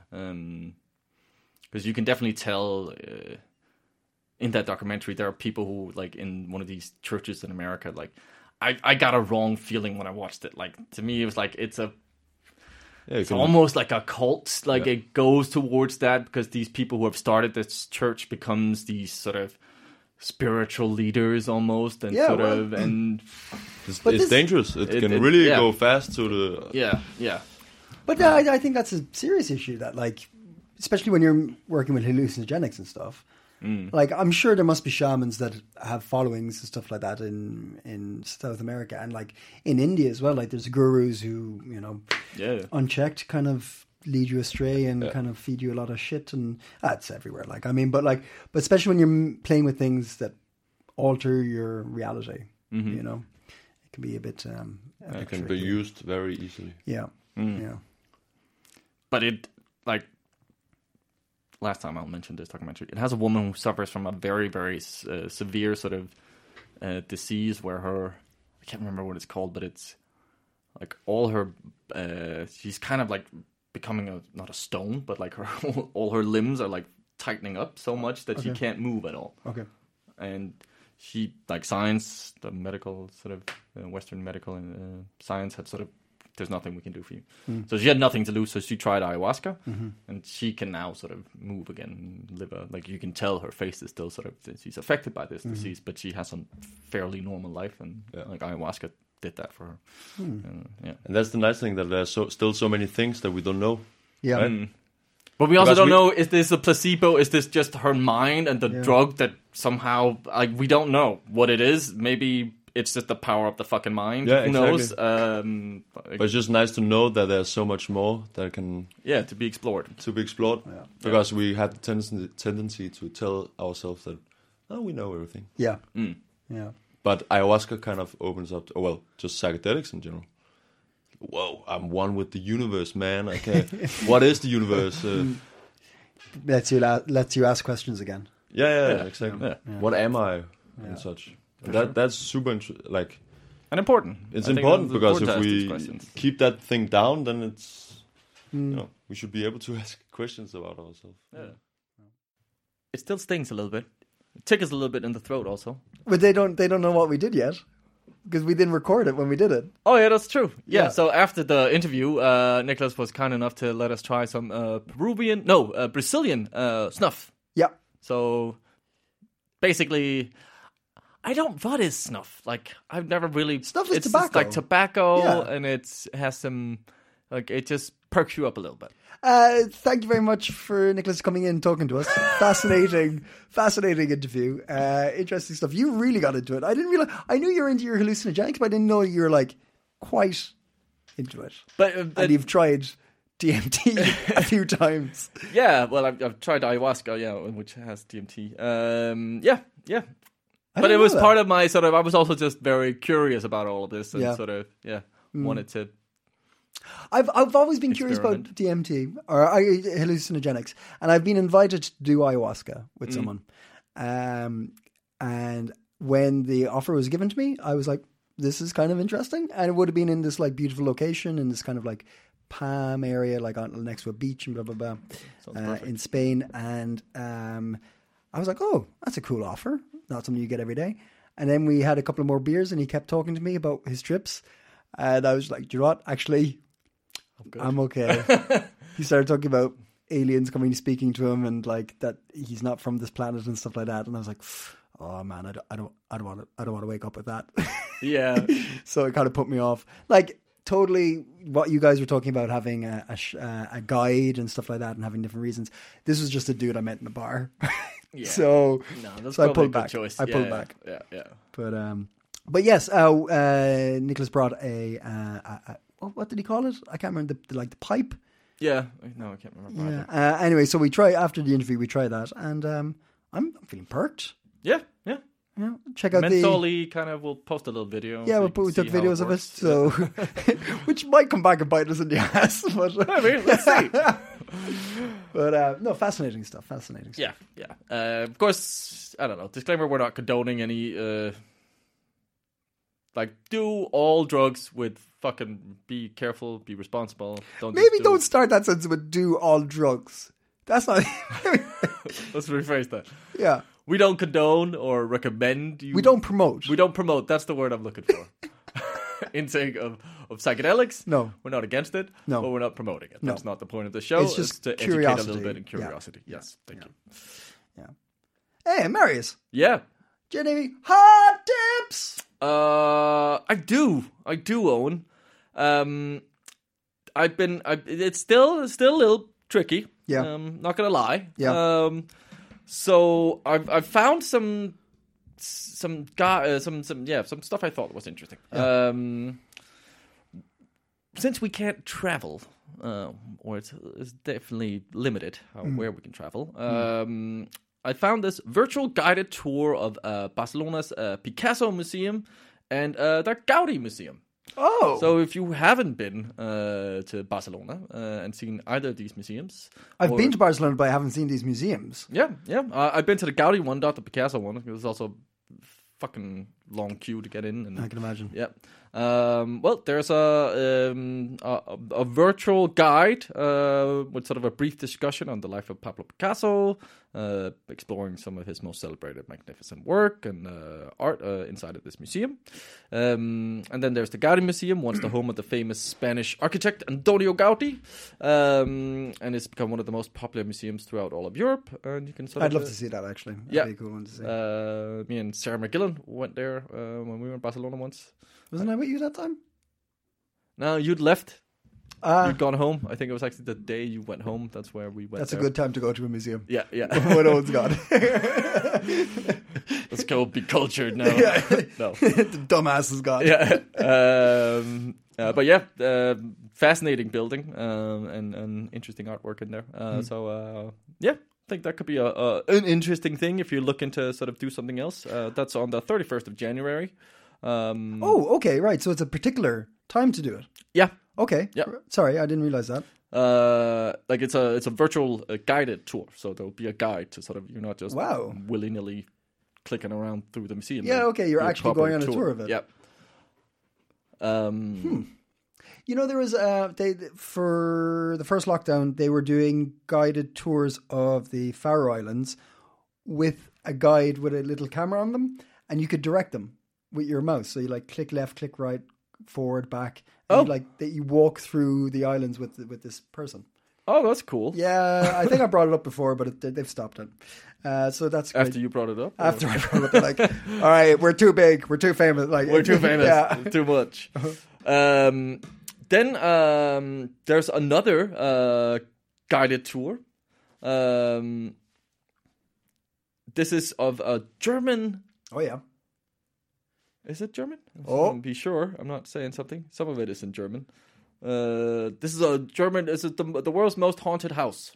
because you can definitely tell uh, in that documentary there are people who like in one of these churches in America like I, I got a wrong feeling when I watched it. Like to me it was like it's a Yeah, you it's can- almost like a cult. Like Yeah. it goes towards that because these people who have started this church becomes these sort of spiritual leaders almost, and Yeah, sort well, of and It's, But it's this- dangerous. It, It- can it- really yeah. go fast to the. yeah, yeah, But uh, I, I think that's a serious issue. That like, especially when you're working with hallucinogenics and stuff. Like, I'm sure there must be shamans that have followings and stuff like that in in South America and like in India as well. Like, there's gurus who you know, yeah. unchecked, kind of lead you astray and Yeah. kind of feed you a lot of shit, and that's everywhere. Like, I mean, but like, but especially when you're m- playing with things that alter your reality, you know, it can be a bit. Um, a bit It can be tricky. used very easily. Yeah, yeah. But it like last time I'll mention this documentary. It has a woman who suffers from a very, very uh, severe sort of uh, disease where her, I can't remember what it's called, but it's like all her, uh, she's kind of like becoming a, not a stone, but like her, all her limbs are like tightening up so much that Okay. she can't move at all. Okay. And she, like science, the medical sort of uh, Western medical uh, science had sort of, there's nothing we can do for you. Mm. So she had nothing to lose, so she tried ayahuasca, mm-hmm. and she can now sort of move again, live a, like you can tell her face is still sort of, she's affected by this mm-hmm. disease, but she has a fairly normal life, and yeah. like ayahuasca did that for her. Mm. Uh, yeah. And that's the nice thing, that there's so, still so many things that we don't know. Yeah. Right? Mm. But we also Because don't we- know, is this a placebo? Is this just her mind and the Yeah. drug that somehow, like, we don't know what it is. Maybe it's just the power of the fucking mind. Yeah, Who knows? exactly. Um, But it's just nice to know that there's so much more that can yeah, to be explored. to be explored. Yeah. Because we have the tendency, tendency to tell ourselves that, oh, we know everything. Yeah. Mm. Yeah. But ayahuasca kind of opens up, to, oh, well, just psychedelics in general. Whoa, I'm one with the universe, man. I can't. What is the universe? Uh, Lets you la- lets you ask questions again. yeah, yeah, Yeah. exactly. Yeah. Yeah. What am I? Yeah. And such. And that that's super int- like And important. it's I think important it's because important to if ask these we questions. keep that thing down, then it's Mm. you know we should be able to ask questions about ourselves. Yeah. It still stings a little bit. It tickles a little bit in the throat also. But they don't they don't know what we did yet because we didn't record it when we did it. Oh yeah, that's true. Yeah. Yeah. So after the interview, uh, Nicholas was kind enough to let us try some uh, Peruvian, no, uh, Brazilian uh, snuff. Yeah. So basically, I don't. What is snuff? Like I've never really. Snuff is it's just tobacco. like tobacco, Yeah. and it's it has some like it just perks you up a little bit. Uh, thank you very much for Nicholas coming in and talking to us. Fascinating, fascinating interview. Uh, interesting stuff. You really got into it. I didn't realize. I knew you were into your hallucinogenics, but I didn't know you were like quite into it. But, uh, but And you've tried D M T a few times. yeah, well, I've, I've tried ayahuasca, yeah, which has D M T. Um, yeah, yeah. I But didn't it was know part that. of my sort of. I was also just very curious about all of this, and Yeah. sort of yeah, wanted to. I've I've always been curious about Experiment. D M T or uh, hallucinogenics, and I've been invited to do ayahuasca with Mm. someone. Um, and when the offer was given to me, I was like, "This is kind of interesting," and it would have been in this like beautiful location in this kind of like palm area, like on next to a beach and blah blah blah, uh, in Spain. And um, I was like, "Oh, that's a cool offer. Not something you get every day." And then we had a couple of more beers, and he kept talking to me about his trips, and I was like, "Do you know what? Actually." I'm okay. He started talking about aliens coming, speaking to him, and like that he's not from this planet and stuff like that. And I was like, "Oh man, I don't, I don't, I don't want to, I don't want to wake up with that." Yeah, So it kind of put me off. Like totally, what you guys were talking about, having a a, sh- uh, a guide and stuff like that, and having different reasons. This was just a dude I met in a bar. Yeah. So, no, that's so I probably pulled a good back. choice. I yeah, pulled yeah, back. Yeah, yeah. But um, but yes, uh, uh, Nicholas brought a, uh, a, a what- what did he call it? I can't remember the, the like the pipe. Yeah, no, I can't remember. Yeah. either. Uh, anyway, so we try after the interview. We try that, and um, I'm, I'm feeling perked. Yeah, yeah. Yeah, check out the. Mentally, kind of, we'll post a little video. Yeah, so we'll you put, can we took see how videos of it, works. so which might come back and bite us in the ass. But, I mean, let's see. but uh, no, fascinating stuff. Fascinating stuff. Yeah, yeah. Uh, of course, I don't know. Disclaimer: we're not condoning any. Uh, like, do all drugs with fucking. Be careful. Be responsible. Don't. Maybe just do, don't start that sentence with "do all drugs." That's not. Let's rephrase that. Yeah, We don't condone or recommend you. we don't promote. We don't promote. That's the word I'm looking for. Intake of, of psychedelics. No. We're not against it. No. But we're not promoting it. No. That's not the point of the show. It's just to educate a curiosity. little bit and Yeah. curiosity. Yes. Thank you. Hey, Marius, Yeah. do you have any hot tips? Uh, I do. I do, Owen. Um, I've been. I, it's still still a little tricky. Yeah. Um, not gonna lie. Yeah. Um, so I've I've found some some guy uh, some some yeah some stuff I thought was interesting. Um, since we can't travel, uh, or it's, it's definitely limited how, Mm. where we can travel. Um, I found this virtual guided tour of uh, Barcelona's uh, Picasso Museum and uh, the Gaudi Museum. Oh, So if you haven't been uh, to Barcelona uh, and seen either of these museums, I've or- been to Barcelona, but I haven't seen these museums. Yeah, yeah. Uh, I've been to the Gaudi one, not the Picasso one. It was also fucking long queue to get in. And I can imagine. yeah. Um, well, there's a, um, a a virtual guide uh, with sort of a brief discussion on the life of Pablo Picasso, uh, exploring some of his most celebrated, magnificent work and uh, art uh, inside of this museum. Um, and then there's the Gaudi Museum, once the home of the famous Spanish architect Antonio Gaudi, um, and it's become one of the most popular museums throughout all of Europe. And you can sort I'd of love to see that actually. That'd yeah. be a cool one to see. Uh, me and Sarah McGillan went there uh, when we were in Barcelona once. Wasn't I with you that time? No, you'd left. Uh, You'd gone home. I think it was actually the day you went home. That's where we went. that's there. a good time to go to a museum. Yeah, yeah. When no one's gone. Let's go be cultured now. Yeah. No. The dumbass is gone. Yeah. Um, uh, but yeah, uh, fascinating building um, and, and interesting artwork in there. Uh, Hmm. So uh, yeah, I think that could be a, a an interesting thing if you're looking to sort of do something else. Uh, that's on the thirty-first of January. Um, Oh, okay, right. So it's a particular time to do it. yeah. Okay. Yeah. Sorry, I didn't realize that. Uh, like it's a it's a virtual uh, guided tour, so there'll be a guide to sort of you're not just Wow. willy nilly clicking around through the museum. Yeah, There'll okay, you're be a actually proper going on a tour of it. Yep. Um. Hmm. You know, there was uh, they for the first lockdown they were doing guided tours of the Faroe Islands with a guide with a little camera on them, and you could direct them with your mouse. So you like click left, click right, forward, back. And Oh. you, like that you walk through the islands with with this person. Oh, that's cool. Yeah, I think I brought it up before, but it, they've stopped it. Uh, so that's great. After you brought it up. or- After I brought it up, they're like, all right, we're too big, we're too famous. Like We're too famous. Yeah. Too much. Um. Then um, there's another uh, guided tour. Um. This is of a German. Oh yeah. Is it German? Oh. Be sure. I'm not saying something. Some of it is in German. Uh, this is a German. Is it the, the world's most haunted house?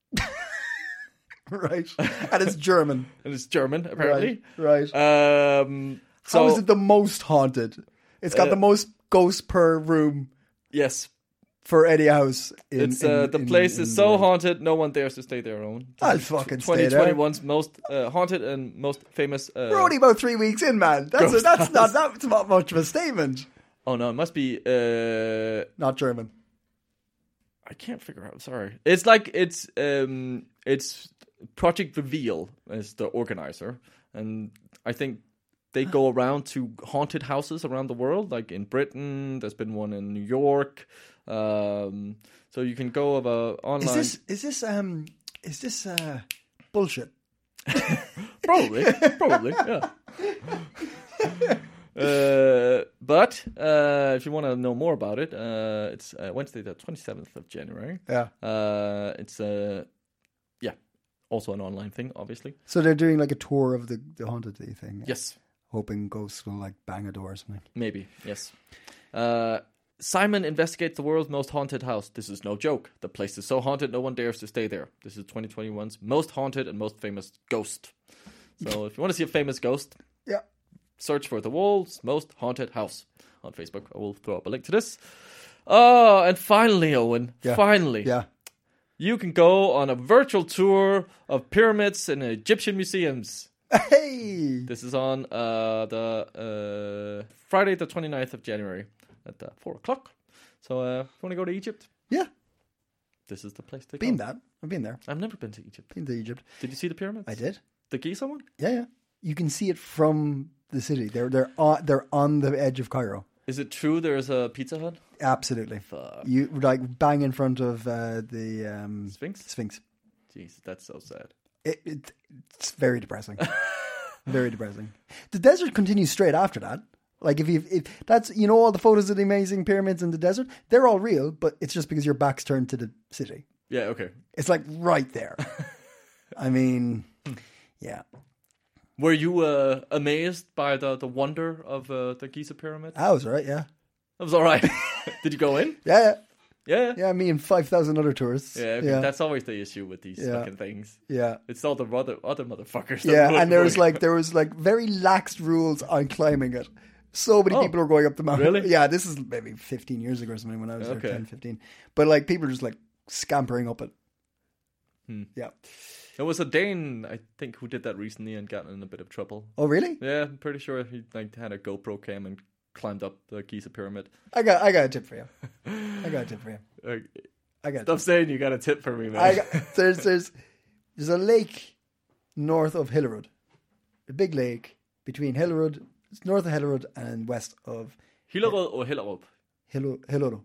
Right. And it's German. And it's German, apparently. Right. Right. Um, How so, is it the most haunted? It's got Uh, the most ghosts per room Yes. for any house. In, It's uh, in- the in- place in is the so world. haunted, no one dares to stay there alone. I'll fucking stay there. twenty twenty-one's most uh, haunted and most famous. Uh, We're only about three weeks in, man. That's a, Ghost that's not house. that's not much of a statement. oh no, it must be. Uh, Not German. I can't figure out. Sorry. It's like it's um it's Project Reveal is the organizer, and I think they go around to haunted houses around the world. Like in Britain, there's been one in New York. Um, so you can go of a online. Is this is this um is this uh bullshit? Probably, probably, yeah. Uh, but uh, if you want to know more about it, uh, it's uh, Wednesday, the twenty-seventh of January. Yeah. Uh, it's uh, yeah, also an online thing, obviously. So they're doing like a tour of the the haunted thing. Yes, Hoping ghosts will like bang a door or something. maybe. Yes. Uh, Simon investigates the world's most haunted house. This is no joke. The place is so haunted, no one dares to stay there. This is twenty twenty-one's most haunted and most famous ghost. So if you want to see a famous ghost, Yeah. search for the world's most haunted house on Facebook. I will throw up a link to this. Oh, and finally, Owen, Yeah. finally, Yeah. you can go on a virtual tour of pyramids and Egyptian museums. Hey. This is on uh, the uh, Friday, the twenty-ninth of January at uh, four o'clock. So uh, if you want to go to Egypt, Yeah. this is the place to Been go. that. I've been there. I've never been to Egypt. Been to Egypt. Did you see the pyramids? I did. The Giza one? Yeah, yeah. You can see it from the city. They're they're on they're on the edge of Cairo. Is it true there's a Pizza Hut? Absolutely. Fuck. You like bang in front of uh, the um, Sphinx? Sphinx. Jeez, that's so sad. It, it it's very depressing. Very depressing. The desert continues straight after that. Like if you if that's you know all the photos of the amazing pyramids in the desert, they're all real, but it's just because your back's turned to the city. Yeah, okay. It's like right there. I mean, yeah. Were you uh, amazed by the, the wonder of uh, the Giza pyramid? I was right, yeah. That was all right. Did you go in? Yeah, yeah. Yeah. Yeah, me and five thousand other tourists. Yeah, okay. yeah. That's always the issue with these Yeah. fucking things. yeah. It's all the other other motherfuckers. that Yeah, were and there was going. like there was like very lax rules on climbing it. So many Oh, people were going up the mountain. really? Yeah, this is maybe fifteen years ago or something when I was Okay. there, ten, fifteen. But like people are just like scampering up it. Hmm. Yeah. There was a Dane, I think, who did that recently and got in a bit of trouble. Oh, really? Yeah, I'm pretty sure he like had a GoPro cam and climbed up the Giza pyramid. I got I got a tip for you. I got a tip for you. Uh, I got a stop tip. saying you got a tip for me, man. I got, there's there's there's a lake north of Hillerud. A big lake between Hillerud, it's north of Hillerud and west of Hillerød or Hellerup? Hillerud. Hillerud.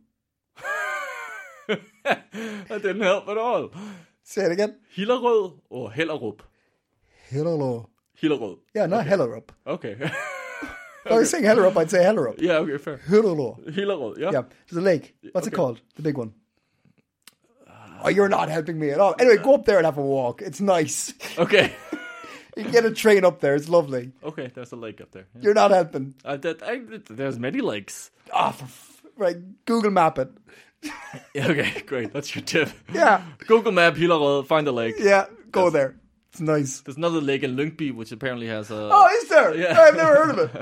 That didn't help at all. Say it again. Hillerød or Hellerup? Hillerud. Hillerød. Yeah, not Hellerup. Okay. If I was saying Hellerup, I'd say Hellerup. Yeah, okay, fair. Hillerud. Hillerød, yeah. Yeah, there's a lake. What's it Okay. called? The big one. Oh, you're not helping me at all. Anyway, go up there and have a walk. It's nice. Okay. You can get a train up there. It's lovely. Okay, there's a lake up there. Yeah. You're not helping. Uh, that, I, there's many lakes. Ah, for f- right. Google map it. Yeah, okay, great. That's your tip. Yeah. Google Map, Hillerød, find a lake. Yeah, go Yes. there. It's nice. There's another lake in Lyngby, which apparently has a... Oh, is there? Yeah. I've never heard of it.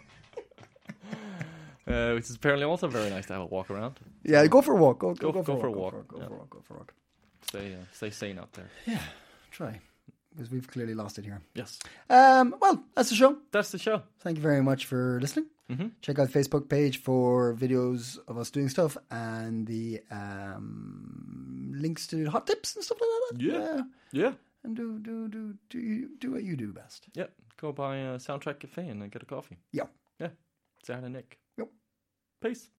uh, which is apparently also very nice to have a walk around. Yeah, go for a walk. Go, go, Go- go, go for, for a a walk. walk. Go for a Yeah. walk. Go for a walk. Stay, uh, stay sane out there. Yeah, try. Because we've clearly lost it here. Yes. Um, well, that's the show. That's the show. Thank you very much for listening. Mm-hmm. Check out the Facebook page for videos of us doing stuff and the um, links to hot tips and stuff like that. Yeah. Yeah. And do do do do you, do what you do best. Yeah. Go by a Soundtrack Cafe and get a coffee. Yeah. Yeah. Say hi to Nick. Yep. Peace.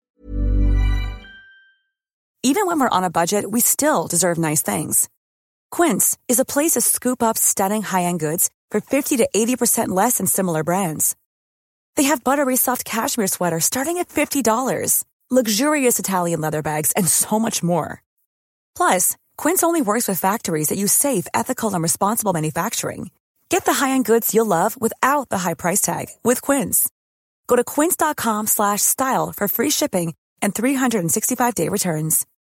Even when we're on a budget, we still deserve nice things. Quince is a place to scoop up stunning high-end goods for fifty to eighty percent less than similar brands. They have buttery soft cashmere sweaters starting at fifty dollars, luxurious Italian leather bags, and so much more. Plus, Quince only works with factories that use safe, ethical, and responsible manufacturing. Get the high-end goods you'll love without the high price tag with Quince. Go to quince.com slash style for free shipping and three sixty-five day returns.